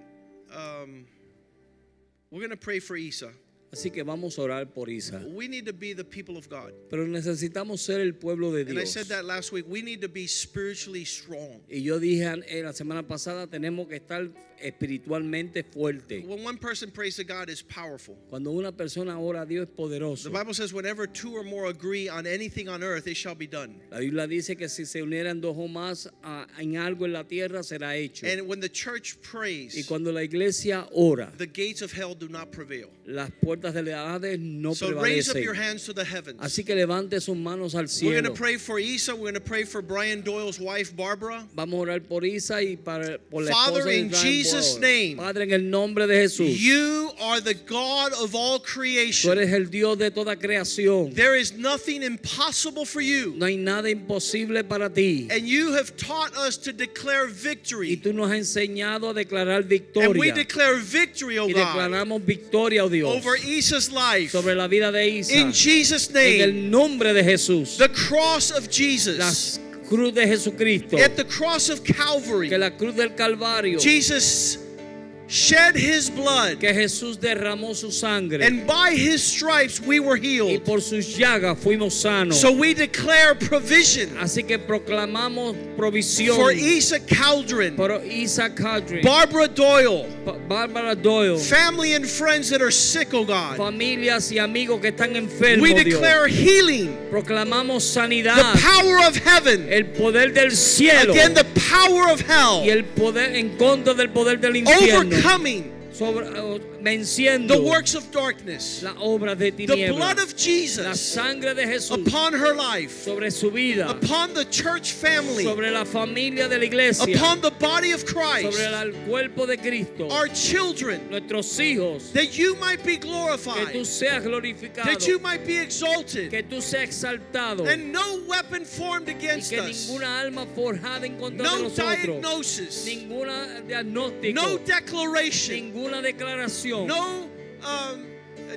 um, we're going to pray for Isa. Así que vamos a orar por Isa. We need to be the people of God. Pero necesitamos ser el pueblo de And I Dios. said that last week. We need to be spiritually strong. Y yo dije eh, la semana pasada, tenemos que estar espiritualmente fuertes. When one person prays to God, is powerful. Cuando una persona ora a Dios es poderoso. The Bible says, whenever two or more agree on anything on earth, it shall be done. La Biblia dice que si se unieran dos o más a- en algo en la tierra será hecho. And when the church Y prays, cuando la iglesia ora, the gates of hell do not prevail. las puertas del Hades no So raise up your prevalecen. hands to the heavens. Así que levante sus manos al We're going cielo. to pray for Isa. We're going to pray for Brian Doyle's wife, Barbara. Vamos a orar por Isa y para, por la Father, esposa de in Brian Jesus' Boyle. name, Padre, en el nombre de Jesús, You are the God of all tú creation. eres el Dios de toda creación. There is nothing impossible for you. No hay nada imposible para ti. And you have taught us to declare Y victory. tú nos has enseñado a declarar And we victoria. declare victory, oh Y God, declaramos victoria, oh Dios, over Isa's life. sobre la vida de Isa. In Jesus' En el name, nombre de Jesús. the cross of La Jesus, cruz de Jesucristo. at the cross of Calvary, Que la cruz del Calvario. Jesus shed his blood, Que Jesús derramó su sangre. and by his stripes we were Y healed. por sus llagas fuimos sanos. So we declare provision Así que proclamamos provisión for Isa Caldron, por Isa Kadri, Barbara Doyle, Bárbara Doyle, family and friends that are sick, oh God. familias y amigos que están enfermos. We Dios. declare healing, Proclamamos the sanidad, power of heaven el poder del cielo again, the power of y hell, el poder en contra del poder del infierno, overcoming sobre, uh, venciendo the works of darkness. la obra de The blood tinieblas, of la Jesus sangre de Jesús upon her life, sobre su vida, upon the church family, sobre la familia de la iglesia, upon the body of Christ, sobre el cuerpo de Cristo, our children, nuestros hijos, that you might be que tú glorified, seas glorificado, that you might be exalted, que tú seas exaltado and no weapon formed y against que us, ninguna alma forjada en contra de no nosotros, diagnosis, ninguna diagnóstico, no declaration, ninguna declaración, no um,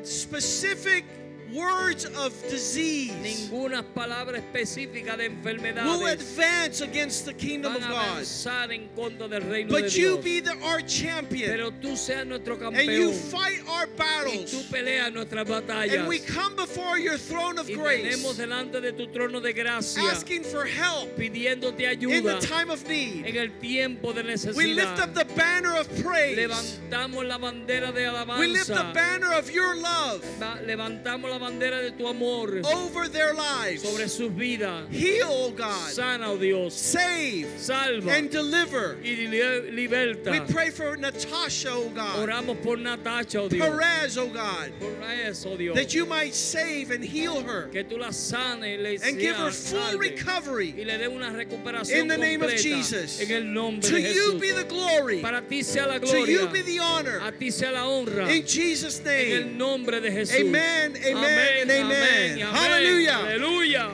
specific words of disease ninguna palabra específica de will enfermedades advance against the kingdom van of a God. avanzar en contra del reino But de you Dios. be the, our champion, Pero tú seas nuestro and you campeón fight our y tú battles, peleas nuestras and batallas we come before your throne of y grace, tenemos delante de tu trono de gracia asking for help pidiéndote in the ayuda time of need. en el tiempo de We lift up necesidad. the banner of praise. Levantamos la bandera de We lift the alabanza. banner of your love Va- Levantamos la la bandera de tu amor over their lives. sobre sus vidas. Heal, oh God. Sana, oh Dios. Save Salva and deliver. y li- liberta. We pray for Natasha, oh God. Oramos por Natasha, oh Dios. Perez, oh God. Por eso, Dios. That you might save and heal her Que tú la sanes, le and give her seas full salve, recovery. y le dé una recuperación In the name of completa. Jesus. En el nombre To de you Jesús. be the glory. Para ti sea la To gloria. you be the honor. A ti sea la honra. In Jesus' En el name. nombre de Jesús. Amen, amen, and amen. amén, amén. Hallelujah. Aleluya.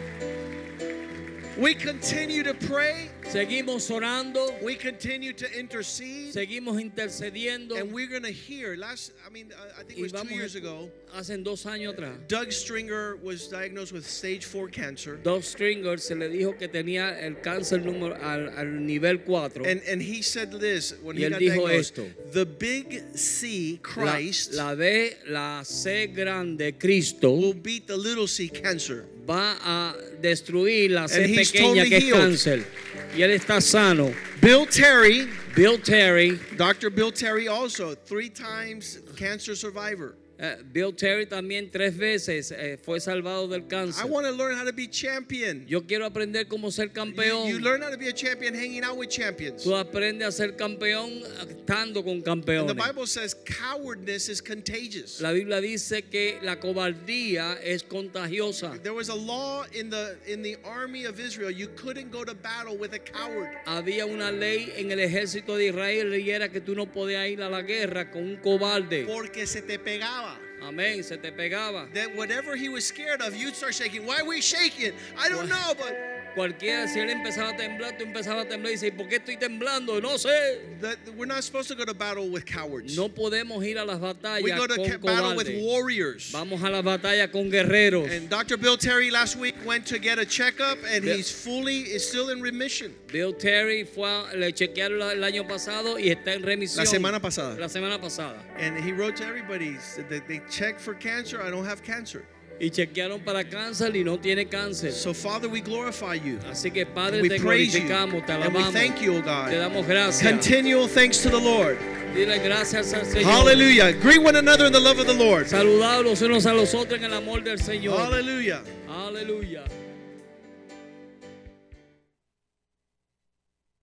We continue to pray. Seguimos orando. We continue to intercede. Seguimos intercediendo. And we're going to hear, last, I mean, uh, I think it Y was two vamos years a- ago, Hace dos años atrás. Doug Stringer was diagnosed with stage four cancer. Doug Stringer se le dijo que tenía el cáncer número al, al nivel cuatro. And, and he said this when Y he él got dijo diagnosed. esto. The big C, Christ, La, la B, la C grande, Cristo, will beat the little c, cancer. va a destruir la C And he's pequeña totally que es healed. cáncer. Y él está sano. Bill Terry, Bill Terry, Doctor Bill Terry also, three times cancer survivor. eh, Bill Terry también tres veces eh, fue salvado del I cáncer. want to learn how to be champion. Yo quiero aprender cómo ser You, campeón. you learn how to be a champion hanging out with champions. Tú aprendes a ser campeón estando con And campeones. the Bible says cowardness is contagious. La Biblia dice que la cobardía es contagiosa. There was a law in the in the army of Israel. You couldn't go to battle with a coward. Había una ley en el ejército de Israel y era que tú no podías ir a la guerra con un cobarde. Porque se te pegaba. Amén, se te pegaba. That whatever he was scared of, you'd start shaking. Why are we shaking? I don't know, but Cualquiera, si él empezaba a temblar, tú empezabas a temblar y dices, ¿por qué estoy temblando? No sé. that we're not supposed to go to battle with cowards. No podemos ir a las We batallas go to con ca- battle with cobardes. warriors. Vamos a la batalla con guerreros. And Doctor Bill Terry last week went to get a checkup, and Yeah. he's fully is still in remission. Bill Terry fue a- le chequearon la- el año pasado y está en remisión. La semana pasada. La semana pasada. And he wrote to everybody that they checked for cancer. I don't have cancer. Y chequearon para cáncer y no tiene cáncer. So Father, we glorify you. Así que Padre, We te praise you. glorificamos, te And we alabamos. thank you, O Te God. damos gracias. Continual thanks to the Lord. Dile gracias al Señor. Hallelujah. Greet one another in the love of the Lord. Saludados los unos a los otros en el amor del Señor. Hallelujah. Aleluya.